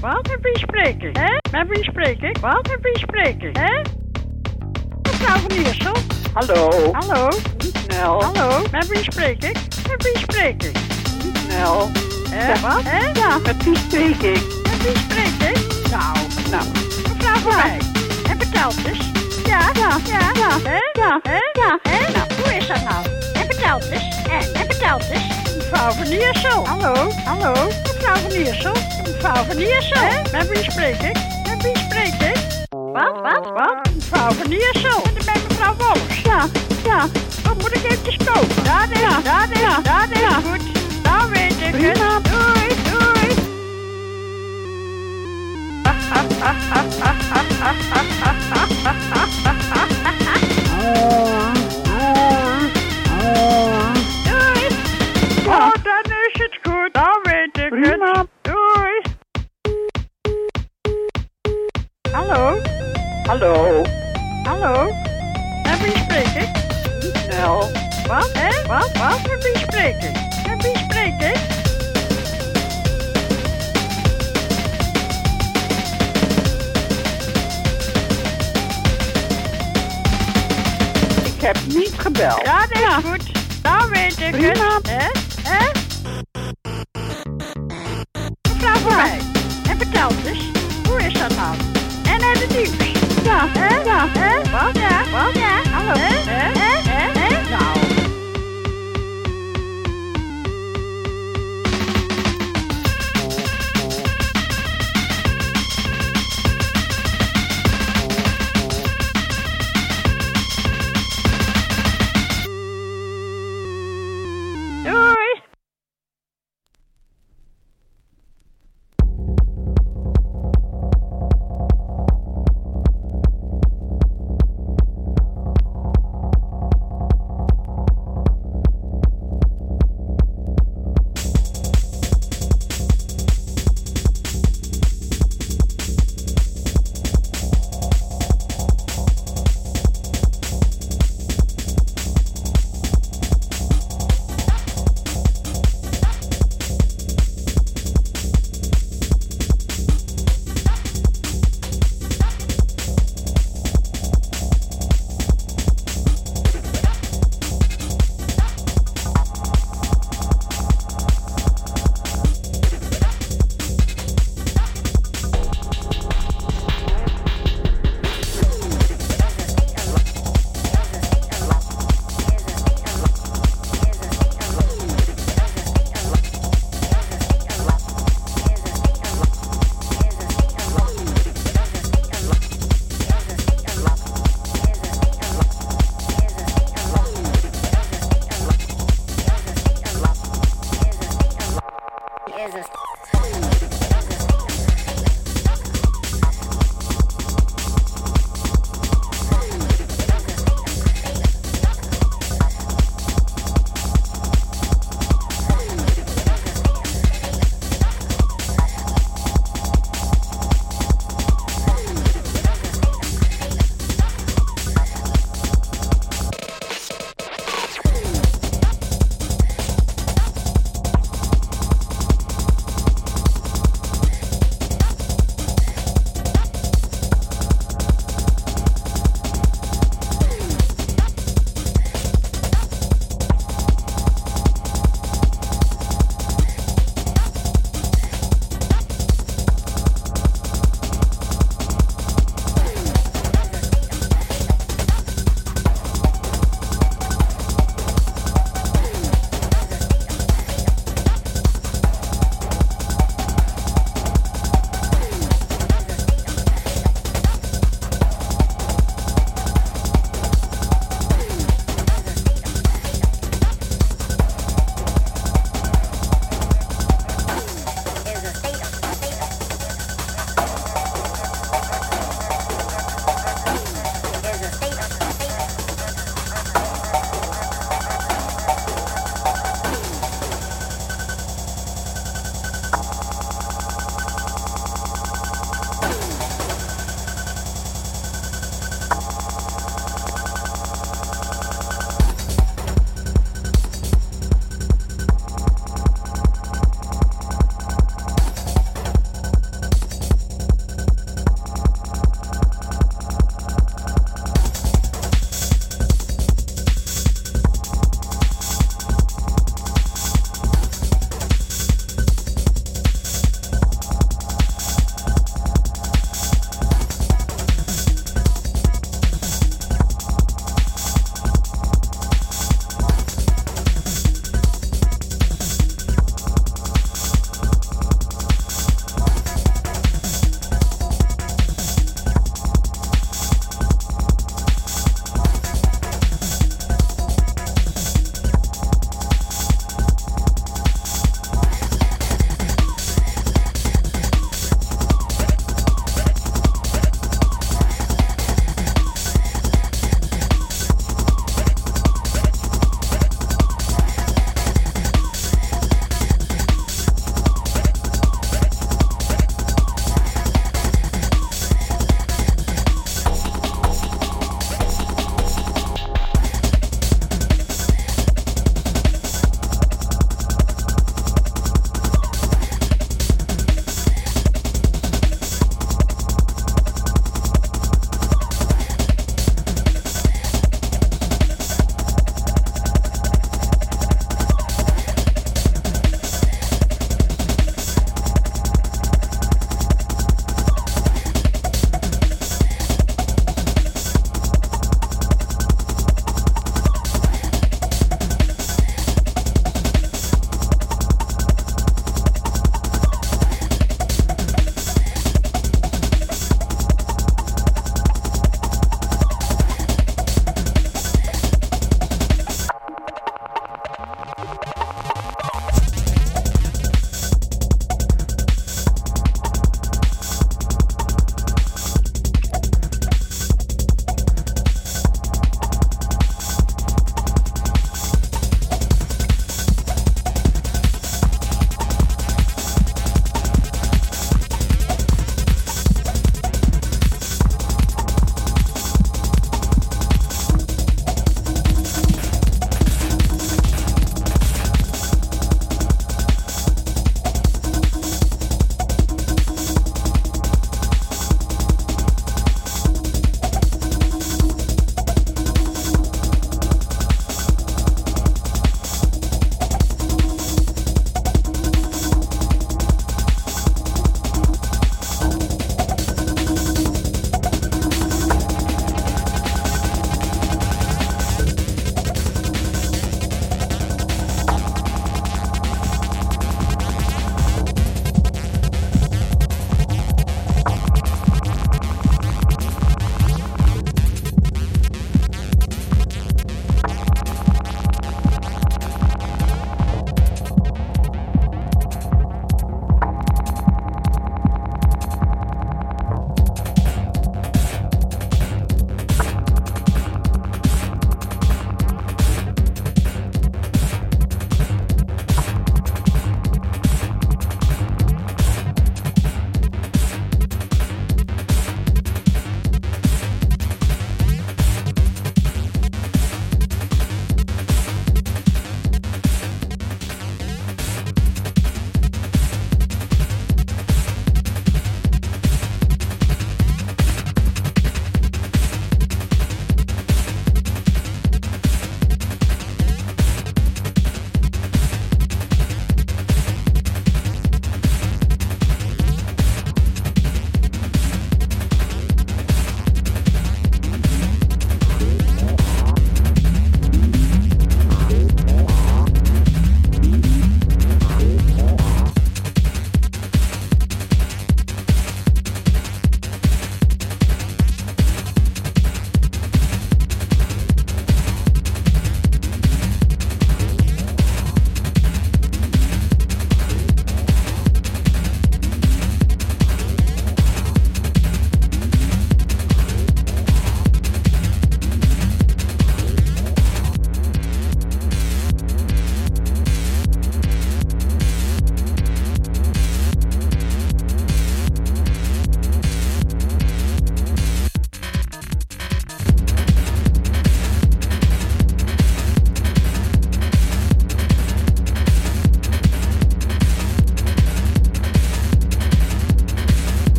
Wat? Met wie spreek ik? Hè? Met wie spreek ik? Wat? Met wie spreek ik? Hè? Mevrouw van Iersel? Hallo? Hallo? Niet snel. Hallo? Met wie spreek ik? Met wie spreek ik? Niet snel. Hè? Wat? Hè? Ja, met wie spreek ik? Met wie spreek ik? Nou, nou. Mevrouw van mij. En vertelt eens. Ja, ja, ja, ja. Hè? Ja, hè? Ja, hè? Nou, hoe is dat nou? En vertelt eens. En, en vertelt eens. Mevrouw van Iersel. Hallo? Hallo? Mevrouw van Iersel. Mevrouw van Iersel. Hè? Met wie spreek ik? Met wie spreek ik? Wat? Wat? Wat? Mevrouw van Iersel. En dan ben mevrouw Wollers. Ja, ja. Dan moet ik eventjes kopen. Dat is, ja. dat is, ja. dat is ja. goed. Nou weet ik het. Doei, doei. Doei. Oh, dan is het goed. Nou weet ik het. Doei. Hallo? Hallo? Hallo? Met wie spreek ik? Niet snel. Wat? Hè? Wat? Wat? Met wie spreek ik? Met wie spreek ik? Ik heb niet gebeld. Ja, dat is ja. goed. Nou weet ik Prima. het. Hè? Hè? Mevrouw van mij. En vertel eens. Hoe is dat nou? En het nieuws. Ja, hè? Ja, hè? Wat? Ja, wat? Ja, hallo. Hè? Hè? Hè? Hè? Hè? Nou. Doei.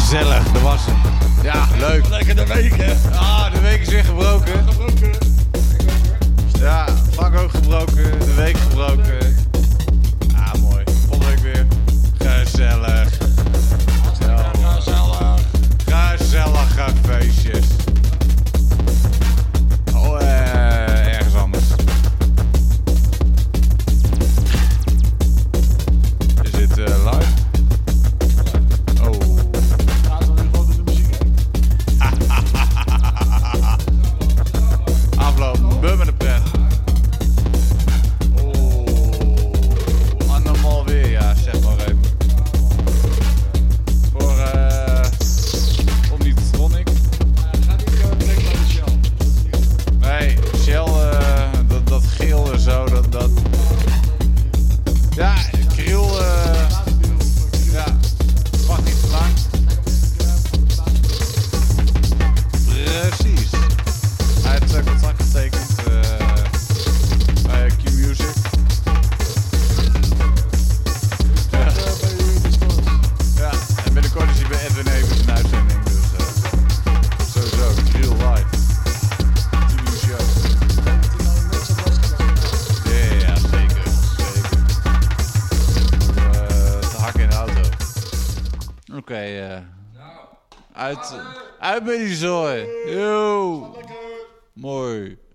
Gezellig, dat was hem. Ja, leuk. Lekker de week, hè? Ah, de week is weer gebroken. Ja, Frank ook gebroken, de week gebroken. Ah, mooi. Volgende week weer. Gezellig. Gezellig. Gezellige feestjes. Oh, eh, ergens anders. Is dit uh, live? Oh. Laten we nu gewoon de muziek heen. Afloop, bum en de pret. Oh, andermaal weer, ja, zeg maar even. Voor, eh, om niet Tronic. Ga niet uh, direct naar de Shell. Nee, Shell, uh, dat, dat geel en zo, dat, dat... Ja, kriel, uh, ja, wacht niet te lang. Precies. Hij heeft uh, contract getekend uh, bij Q-Music. Ja. Ja, en binnenkort is hij bij Edwin Evers een uitzending, dus uh, sowieso, kriel live. T V show. Ja, ja, zeker, zeker. Uh, te hakken in de auto. Oké, okay, uh, uit, uit met die zooi. Yo. Mooi.